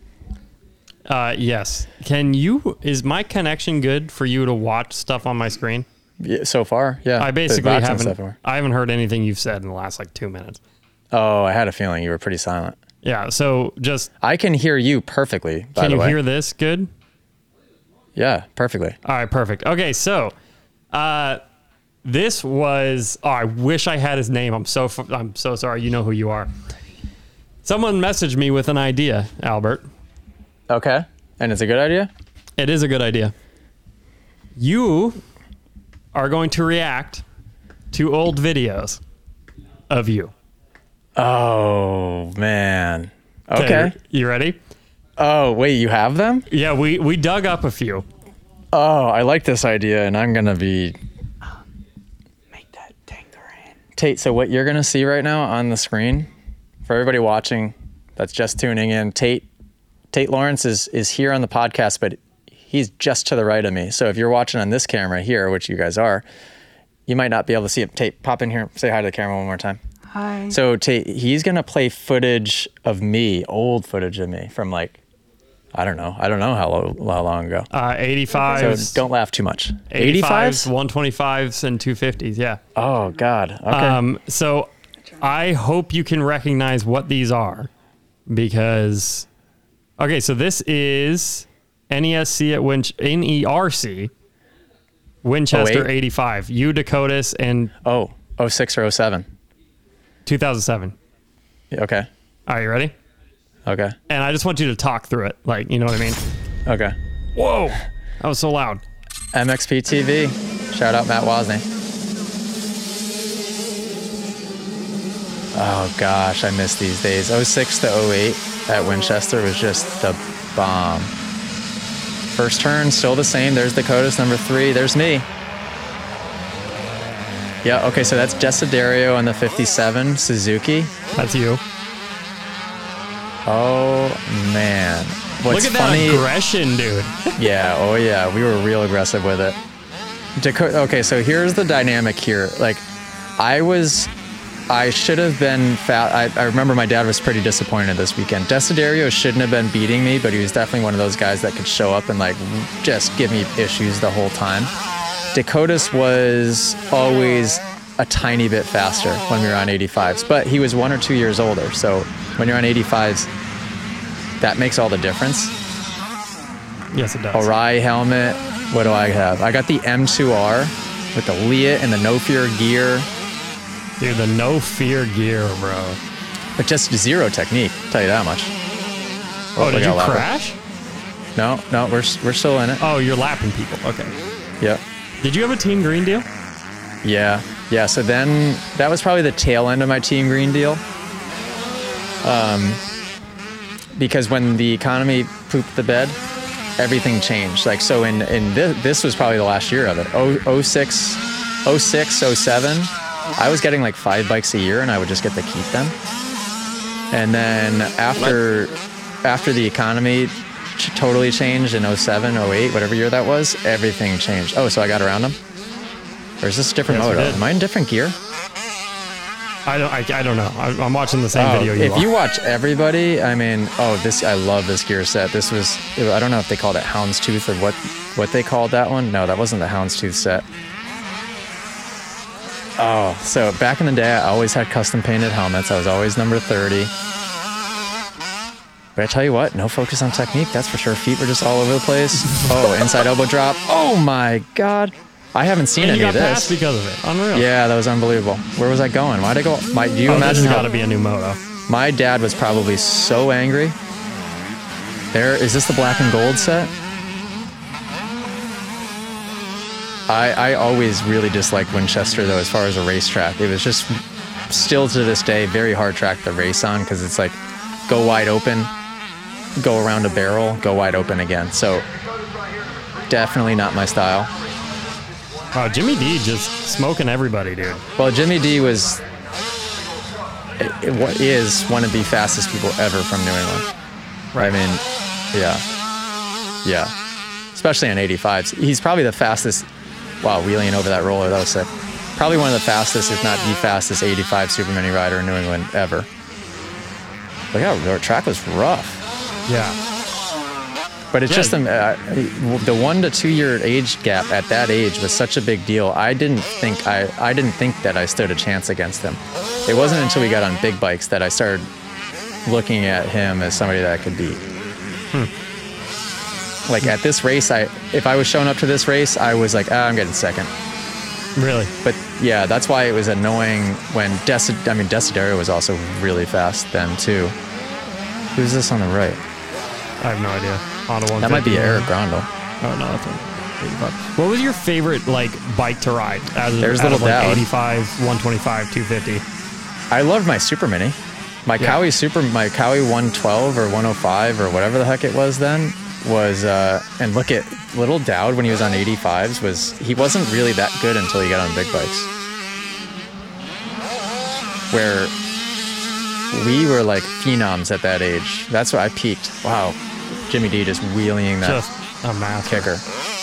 Yes. Is my connection good for you to watch stuff on my screen? Yeah, so far, yeah. I The basically boxing stuff haven't, are- I haven't heard anything you've said in the last like 2 minutes. Oh, I had a feeling you were pretty silent. Yeah. So just, I can hear you perfectly, by can the you way. hear this good? Yeah, perfectly. All right, perfect. Okay, so this was. Oh, I wish I had his name. I'm so sorry. You know who you are. Someone messaged me with an idea, Albert. Okay. And it's a good idea? It is a good idea. You are going to react to old videos of you. Oh, man. Okay. You ready? Oh, wait, you have them? Yeah, we dug up a few. Oh, I like this idea, and I'm going to be... Make that tangerine. Tate, so what you're going to see right now on the screen, for everybody watching that's just tuning in, Tate Lawrence is here on the podcast, but he's just to the right of me. So if you're watching on this camera here, which you guys are, you might not be able to see him. Tate, pop in here, say hi to the camera one more time. Hi. So Tate, he's going to play footage of me, old footage of me from like, I don't know how long ago. 85s. So don't laugh too much. 85s, 125s, and 250s. Yeah. Oh, God. Okay. So I hope you can recognize what these are because, okay, so this is NERC at NERC, Winchester 08? 85, U Dakotas, and 06 or 07. 2007. Okay. Are you ready? Okay. And I just want you to talk through it. Like, you know what I mean? Okay. Whoa. That was so loud. MXP TV. Shout out Matt Wozni. Oh gosh, I miss these days. 06 to 08 at Winchester was just the bomb. First turn, still the same. There's Dakotas, number 3. There's me. Yeah, okay, so that's Desiderio on the 57 Suzuki. That's you. Oh, man. What's Look at funny, that aggression, dude. Yeah, oh yeah, we were real aggressive with it. Okay, so here's the dynamic here. Like, I should have been I remember my dad was pretty disappointed this weekend. Desiderio shouldn't have been beating me, but he was definitely one of those guys that could show up and like just give me issues the whole time. Dakotas was always a tiny bit faster when we were on 85s, but he was 1 or 2 years older. So when you're on 85s, that makes all the difference. Yes, it does. Arai helmet. What do I have? I got the M2R with the Leah and the No Fear gear, Dude, the no fear gear, bro. but just zero technique. Tell you that much. Oh, we did got you a lap. crash? No, we're still in it. Oh, you're lapping people. Okay. Yep. Did you have a Team Green deal? Yeah. So then that was probably the tail end of my Team Green deal. Because when the economy pooped the bed, everything changed. Like, so in this was probably the last year of it. 06, 07, I was getting like 5 bikes a year and I would just get to keep them. And then after the economy totally changed in 07, 08, whatever year that was, everything changed. Oh, so I got around them? Or is this a different Yes, you moto? did. Am I in different gear? I don't know. I'm watching the same video if are. you watch everybody, I mean, I love this gear set. This was, I don't know if they called it Houndstooth or what what they called that one. No, that wasn't the Houndstooth set. Oh, so back in the day, I always had custom painted helmets. I was always number 30. But I tell you what, no focus on technique, that's for sure. Feet were just all over the place. Oh, inside elbow drop. Oh my God. I haven't seen any of got this. passed because of it. Unreal. Yeah, that was unbelievable. Where was I going? Why'd I go? Do you This imagine has how got to be a new moto. my dad was probably so angry? Is this the black and gold set? I always really disliked Winchester though, as far as a racetrack. It was just still to this day very hard track to race on because it's like go wide open, go around a barrel, go wide open again. So definitely not my style. Wow, Jimmy D just smoking everybody, dude. Well, Jimmy D was what is one of the fastest people ever from New England. Right. I mean, yeah, especially on 85s. He's probably the fastest. Wow, wheeling over that roller, that was sick. Probably one of the fastest, if not the fastest, 85 Super Mini rider in New England ever. Look how the track was rough. Yeah. But it's just the 1 to 2 year age gap at that age was such a big deal. I didn't think that I stood a chance against him. It wasn't until we got on big bikes that I started looking at him as somebody that I could beat. Like at this race, if I was showing up to this race, I was like, I'm getting second. Really? But yeah, that's why it was annoying when Desiderio was also really fast then too. Who's this on the right? I have no idea. Honda 150. That might be Eric Grondel. Oh no, that's 185. What was your favorite bike to ride? There's Little Dowd. 85, 125, 250. I loved my Super Mini. My Cowie 112 or 105 or whatever the heck it was then was, and look at Little Dowd when he was on 85s he wasn't really that good until he got on big bikes. Where we were like phenoms at that age. That's where I peaked. Wow. Jimmy D just wheeling that Just a master. kicker.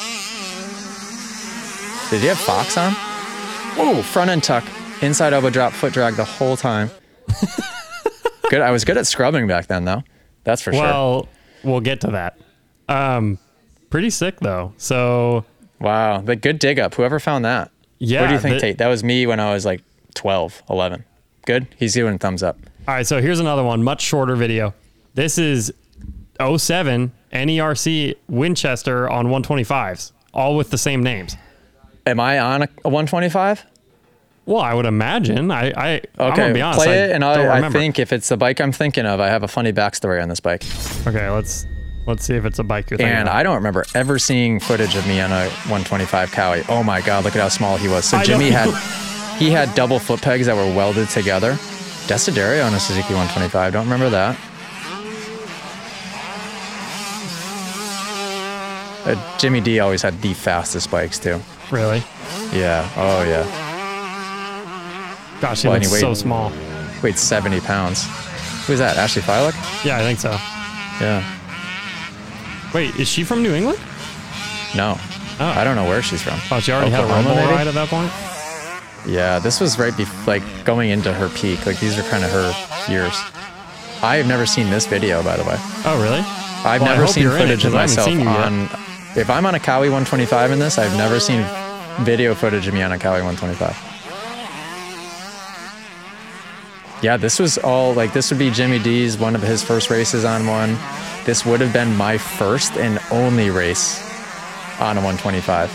Did you have Fox on? Whoa, front end tuck, inside elbow drop, foot drag the whole time. Good. I was good at scrubbing back then, though. That's for sure. Well, we'll get to that. Pretty sick though. So wow, the good dig up. Whoever found that. Yeah. What do you think, Tate? That was me when I was like 12, 11. Good. He's doing thumbs up. All right, so here's another one, much shorter video. This is 07 NERC Winchester on 125s, all with the same names. Am I on a 125? Well, I would imagine. I'm gonna be honest. Play it, and I remember. think if it's the bike I'm thinking of, I have a funny backstory on this bike. Okay, let's see if it's a bike you're thinking And of. I don't remember ever seeing footage of me on a 125 Cowie. Oh my God, look at how small he was. So Jimmy had double foot pegs that were welded together. Desiderio on a Suzuki 125. Don't remember that. Jimmy D always had the fastest bikes too. Really? Yeah. Oh yeah. Gosh, he Well, looks anyway, so small. Weighed 70 pounds. Who's that? Ashley Filock? Yeah, I think so. Yeah. Wait, is she from New England? No. Oh. I don't know where she's from. Oh, she already had a Oklahoma, Red Bull maybe? ride at that point? Yeah, this was right before, like, going into her peak. Like, these are kind of her years. I have never seen this video, by the way. Oh, really? I've Well, I never hope seen you're in it, footage of 'cause I haven't myself seen you yet. on. If I'm on a Cowie 125 in this, I've never seen video footage of me on a Cowie 125. Yeah, this was all like, this would be Jimmy D's, one of his first races on one. This would have been my first and only race on a 125.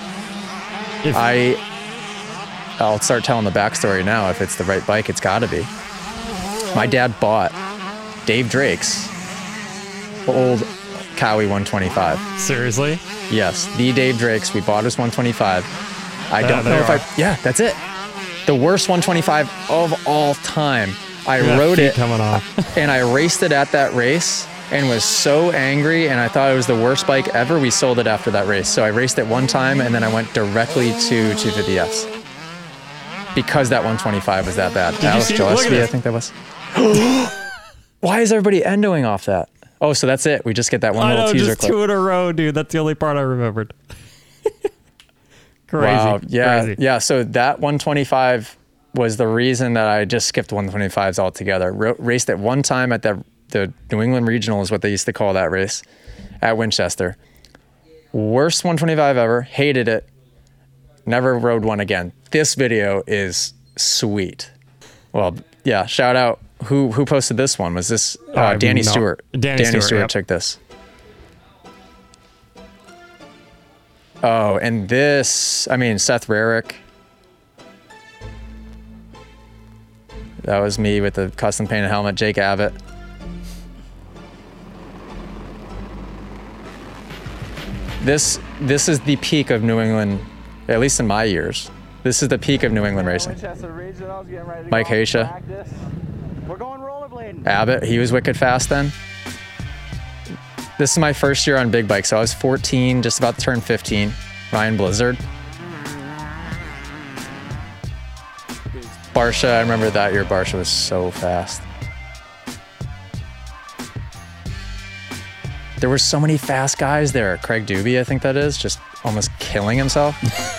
I'll start telling the backstory now. If it's the right bike, it's gotta be. My dad bought Dave Drake's old Cowie 125. Seriously? Yes, the Dave Drake's. We bought his 125. I don't know there if yeah, that's it. The worst 125 of all time. I rode feet it coming off. and I raced it at that race and was so angry, and I thought it was the worst bike ever. We sold it after that race. So I raced it one time and then I went directly to 250Fs because that 125 was that bad. Alex see? Look at Gillespie, I this. think that was. Why is everybody endoing off that? Oh, so that's it. We just get that one I little know, teaser just clip. 2 in a row, dude. That's the only part I remembered. Crazy. Wow. Yeah. Crazy. Yeah. So that 125 was the reason that I just skipped 125s altogether. Raced it one time at the New England Regional is what they used to call that race at Winchester. Worst 125 ever. Hated it. Never rode one again. This video is sweet. Well, yeah, shout out. Who posted this one? Was this Danny Stewart? Danny Stewart yep. took this. Oh, and this, I mean, Seth Rarick. That was me with the custom painted helmet. Jake Abbott. This is the peak of New England, at least in my years. This is the peak of New England racing. Mike Haysha. We're going rollerblading. Abbott, he was wicked fast then. This is my first year on big bike, so I was 14, just about to turn 15. Ryan Blizzard. Barsha, I remember that year Barsha was so fast. There were so many fast guys there. Craig Doobie, I think that is, just almost killing himself.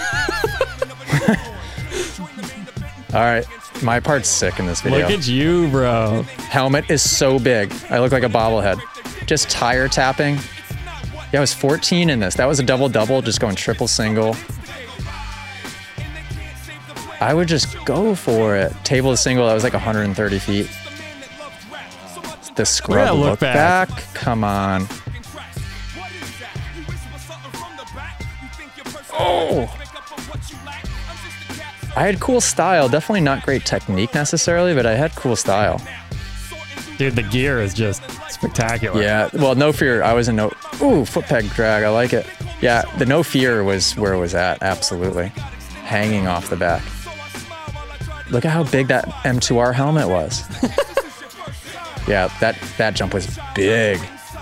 All right, my part's sick in this video. Look at you, bro. Helmet is so big. I look like a bobblehead. Just tire tapping. Yeah, I was 14 in this. That was a double-double, just going triple-single. I would just go for it. Table to single, that was like 130 feet. The scrub look back. Come on. Oh! I had cool style. Definitely not great technique necessarily, but I had cool style. Dude, the gear is just spectacular. Yeah, well, No Fear. I was in no... Ooh, foot peg drag. I like it. Yeah, the No Fear was where it was at. Absolutely. Hanging off the back. Look at how big that M2R helmet was. Yeah, that jump was big.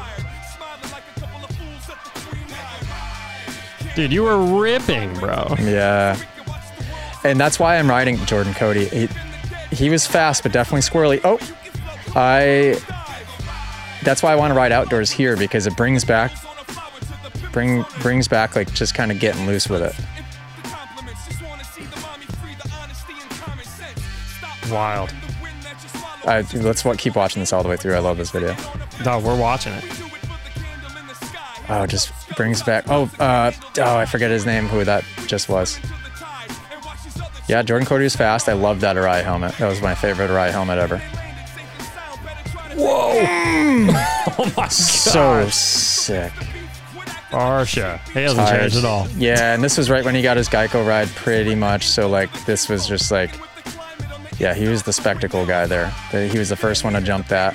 Dude, you were ripping, bro. Yeah. And that's why I'm riding Jordan Cody. He was fast, but definitely squirrely. Oh, that's why I want to ride outdoors here, because it brings back like just kind of getting loose with it. Wild. Let's keep watching this all the way through. I love this video. Dog, we're watching it. Oh, it just brings back. I forget his name. Who that just was. Yeah, Jordan Cody was fast. I loved that Arai helmet. That was my favorite Arai helmet ever. Whoa! Oh my god. So sick. Barsha. He hasn't changed at all. Yeah, and this was right when he got his Geico ride pretty much. So like this was just like, yeah, he was the spectacle guy there. He was the first one to jump that.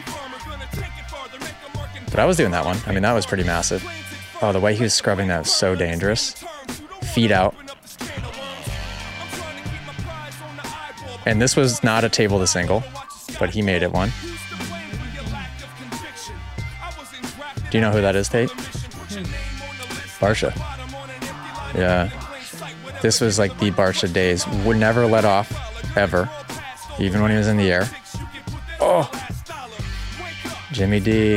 But I was doing that one. I mean, that was pretty massive. Oh, the way he was scrubbing that was so dangerous. Feet out. And this was not a table to single, but he made it one. Do you know who that is, Tate? Barsha. Yeah. This was like the Barsha days. Would never let off, ever. Even when he was in the air. Oh! Jimmy D.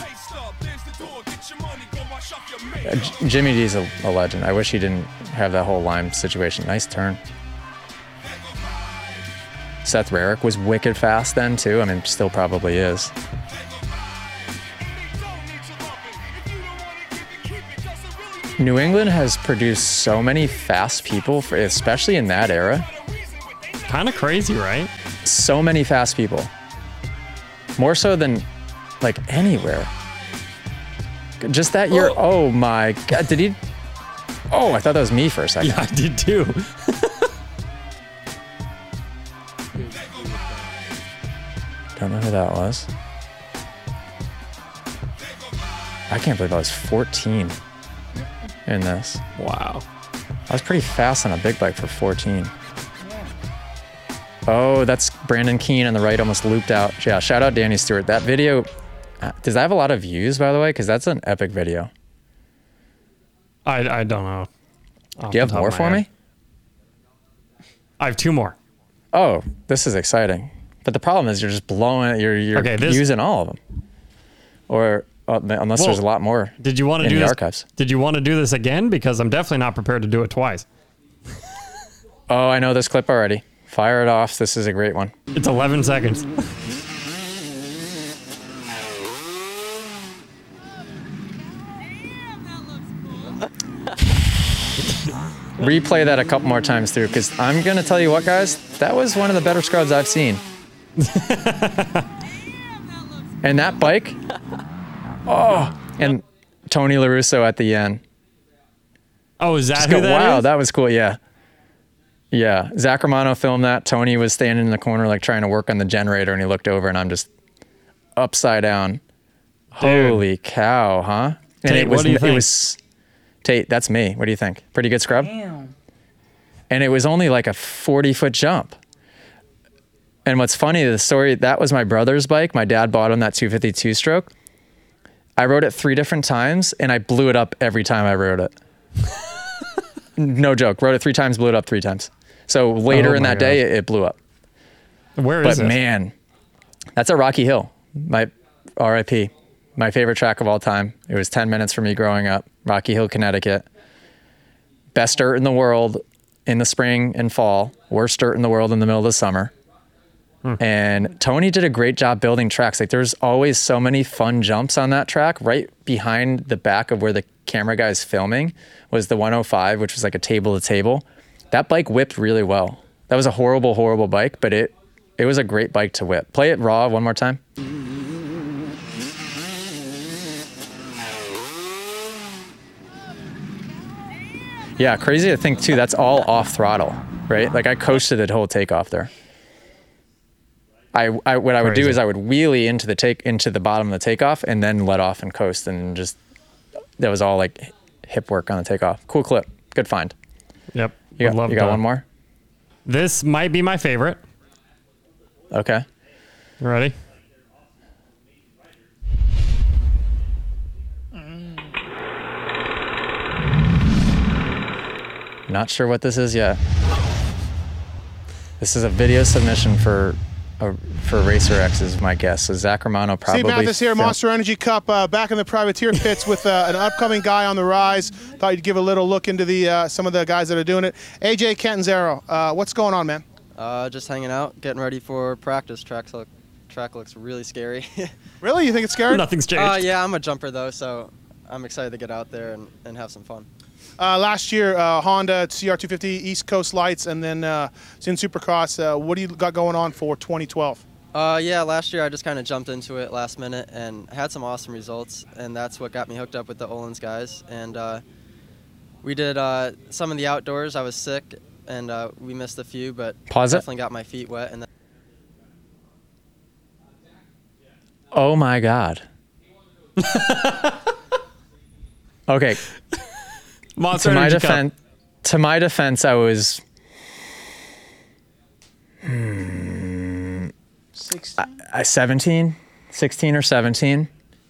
Jimmy D's a legend. I wish he didn't have that whole Lime situation. Nice turn. Seth Rarick was wicked fast then too. I mean, still probably is. New England has produced so many fast people, especially in that era. Kind of crazy, right? So many fast people. More so than like anywhere. Just that year. Oh my God. Did he? Oh, I thought that was me for a second. Yeah, I did too. Don't know who that was. I can't believe I was 14 in this. Wow. I was pretty fast on a big bike for 14. Oh, that's Brandon Keane on the right, almost looped out. Yeah, shout out Danny Stewart. That video, does that have a lot of views, by the way? Because that's an epic video. I don't know. Do you have more for me? I have two more. Oh, this is exciting. But the problem is you're just blowing it. You're using all of them. Or unless there's a lot more. Did you want to do the this? Archives. Did you want to do this again? Because I'm definitely not prepared to do it twice. Oh, I know this clip already. Fire it off. This is a great one. It's 11 seconds. replay that a couple more times through, because I'm going to tell you what, guys, that was one of the better scrubs I've seen. And that bike, oh, and Tony LaRusso at the end. Oh, is that Just who go, that wow, is? that was cool. Yeah. Yeah. Zach Romano filmed that. Tony was standing in the corner, like trying to work on the generator, and he looked over, and I'm just upside down. Dude. Holy cow, huh? And Tate, what do you think? It was Tate, that's me. What do you think? Pretty good scrub? Damn. And it was only like a 40-foot jump. And what's funny, the story, that was my brother's bike. My dad bought him that 252 stroke. I rode it 3 different times, and I blew it up every time I rode it. No joke. Rode it 3 times, blew it up 3 times. So later Oh in my that day, it blew up. Where But is it? man, that's at Rocky Hill. My RIP. My favorite track of all time. It was 10 minutes for me growing up. Rocky Hill, Connecticut. Best dirt in the world in the spring and fall. Worst dirt in the world in the middle of the summer. And Tony did a great job building tracks. Like there's always so many fun jumps on that track. Right behind the back of where the camera guy is filming was the 105, which was like a table to table. That bike whipped really well. That was a horrible, horrible bike, but it was a great bike to whip. Play it raw one more time. Yeah, crazy to think too, that's all off throttle, right? Like I coasted the whole takeoff there. What I would do Crazy. is I would wheelie into the bottom of the takeoff and then let off and coast, and just that was all like hip work on the takeoff. Cool clip. Good find. Yep. You Would love got to- one more? This might be my favorite. Okay. You ready? Not sure what this is yet. This is a video submission for Racer X is my guess. So Zach Romano probably. Steve Mathis here, fil- Monster Energy Cup, back in the privateer pits with an upcoming guy on the rise. Thought you'd give a little look into the some of the guys that are doing it. AJ Catanzaro, what's going on, man? Just hanging out, getting ready for practice. Track looks really scary. Really? You think it's scary? Nothing's changed. Yeah, I'm a jumper though, so I'm excited to get out there and have some fun. Last year, Honda CR250 East Coast Lights, and then Zin Supercross. What do you got going on for 2012? Yeah, last year I just kind of jumped into it last minute and had some awesome results, and that's what got me hooked up with the Öhlins guys. And we did some of the outdoors. I was sick, and we missed a few, but Pause it. definitely got my feet wet. And then Oh my God. Okay. Monster To my Energy Cup. defense, I was 16. 16 or 17.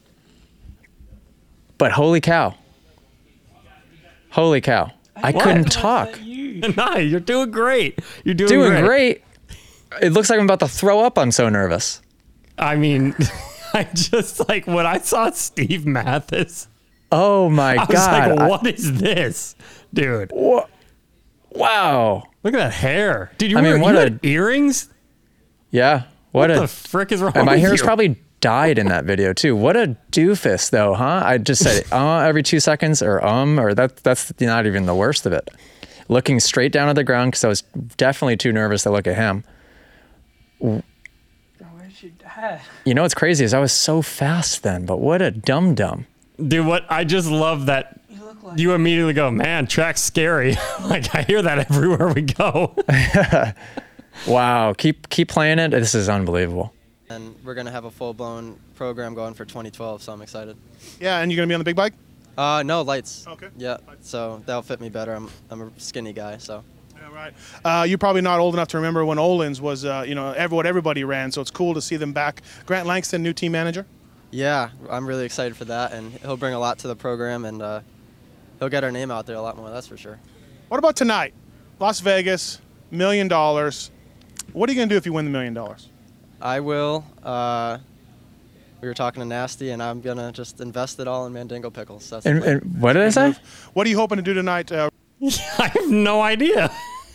But holy cow. Holy cow. I couldn't talk. Nah, you're doing great. You're doing, Doing great. It looks like I'm about to throw up. I'm so nervous. I mean, I just like when I saw Steve Mathis, Oh my I was God. like, what is this, dude? Wow. Look at that hair, dude. You I mean, what had earrings? Yeah. What the a. frick is wrong And my with hair's you? probably dyed in that video too. What a doofus though, huh? I just said every 2 seconds or that's not even the worst of it. Looking straight down at the ground because I was definitely too nervous to look at him. Bro, where's your dad? You know what's crazy is I was so fast then, but what a dum-dum. Dude, what I just love that You look like you immediately go, man, track's scary. Like I hear that everywhere we go. Wow. Keep playing it. This is unbelievable. and we're gonna have a full-blown program going for 2012, so I'm excited. Yeah, and you're gonna be on the big bike? No, lights. Okay. Yeah, so that'll fit me better. I'm a skinny guy, so. Yeah, right. You're probably not old enough to remember when Öhlins was, what everybody ran. So it's cool to see them back. Grant Langston, new team manager. Yeah, I'm really excited for that, and he'll bring a lot to the program, and he'll get our name out there a lot more, that's for sure. What about tonight? Las Vegas, $1 million. What are you gonna do if you win the $1 million? I will. We were talking to Nasty, and I'm going to just invest it all in Mandingo pickles. That's the And, plan. and what did I say? What are you hoping to do tonight? I have no idea.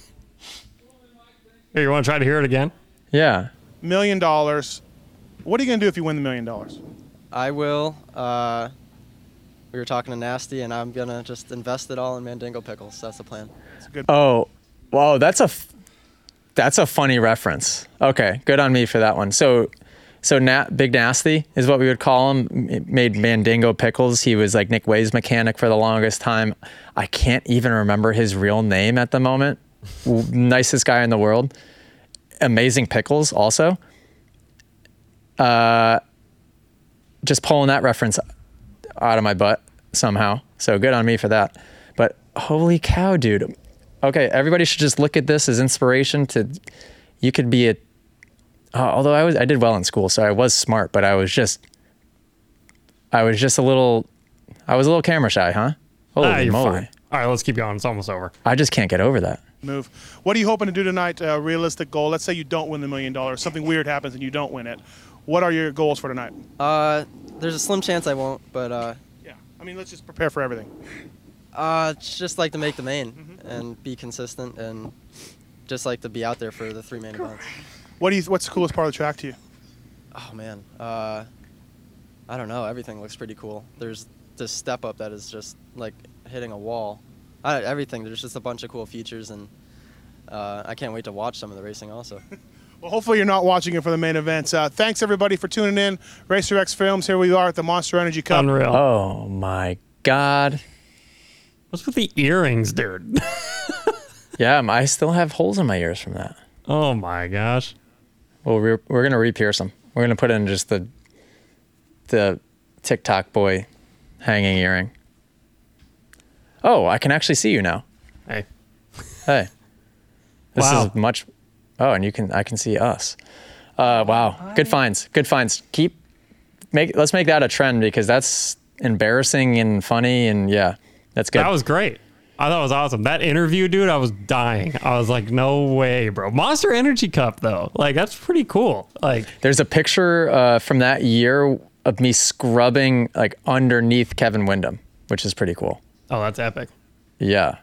Here, you want to try to hear it again? Yeah. $1 million. What are you gonna do if you win the $1 million? I will we were talking to Nasty, and I'm gonna just invest it all in Mandingo pickles. That's the plan. Oh, wow, that's a funny reference. Okay, good on me for that one. So Big Nasty is what we would call him. Made Mandingo pickles. He was like Nick Way's mechanic for the longest time. I can't even remember his real name at the moment. Nicest guy in the world. Amazing pickles also. Just pulling that reference out of my butt somehow. So good on me for that. But holy cow, dude. Okay, everybody should just look at this as inspiration to, you could be although I did well in school, so I was smart, but I was a little camera shy, huh? Holy You're moly. fine. All right, let's keep going. It's almost over. I just can't get over that. Move. What are you hoping to do tonight? Realistic goal. Let's say you don't win the $1 million. Something weird happens and you don't win it. What are your goals for tonight? There's a slim chance I won't, but Yeah. I mean, let's just prepare for everything. just like to make the main and be consistent, and just like to be out there for the 3 main events. What's the coolest part of the track to you? Oh man, I don't know. Everything looks pretty cool. There's this step up that is just like hitting a wall. Everything. There's just a bunch of cool features, and I can't wait to watch some of the racing also. Well, hopefully you're not watching it for the main events. Thanks everybody for tuning in. Racer X Films. Here we are at the Monster Energy Cup. Unreal. Oh my God. What's with the earrings, dude? Yeah, I still have holes in my ears from that. Oh my gosh. Well, we're going to re-pierce them. We're going to put in just the TikTok boy hanging earring. Oh, I can actually see you now. Hey. Hey. This Wow. is much. Oh, and I can see us. Wow. Good finds. Good finds. Let's make that a trend, because that's embarrassing and funny, and yeah, that's good. That was great. I thought it was awesome. That interview, dude, I was dying. I was like, no way, bro. Monster Energy Cup, though. Like, that's pretty cool. Like, There's a picture from that year of me scrubbing like underneath Kevin Windham, which is pretty cool. oh, that's epic. Yeah.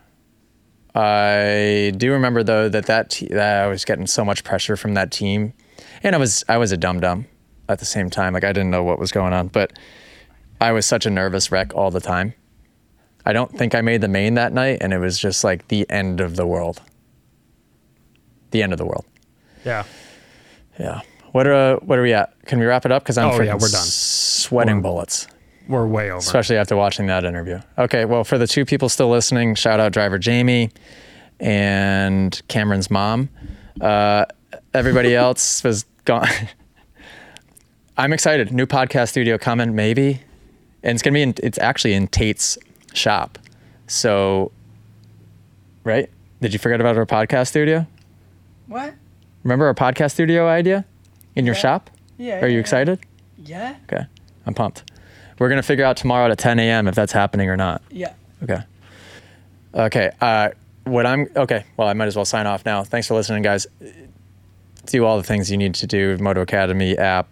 I do remember though that I was getting so much pressure from that team, and I was a dum-dum at the same time. Like, I didn't know what was going on, but I was such a nervous wreck all the time. I don't think I made the main that night, and it was just like the end of the world. The end of the world. Yeah. Yeah. What are we at? Can we wrap it up? Because I'm we're done. sweating bullets. We're way over. Especially after watching that interview. Okay, well, for the 2 people still listening, shout out driver Jamie and Cameron's mom. Everybody else was gone. I'm excited. New podcast studio coming, maybe. And it's actually in Tate's shop. So, right? Did you forget about our podcast studio? What? Remember our podcast studio idea in your shop? Yeah. Are you excited? Yeah. Okay, I'm pumped. We're going to figure out tomorrow at 10 a.m. if that's happening or not. Yeah. Okay. Okay. Well, I might as well sign off now. Thanks for listening, guys. Do all the things you need to do. Moto Academy app,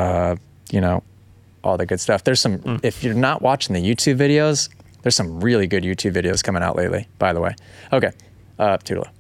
all the good stuff. There's some, if you're not watching the YouTube videos, there's some really good YouTube videos coming out lately, by the way. Okay. Toodaloo.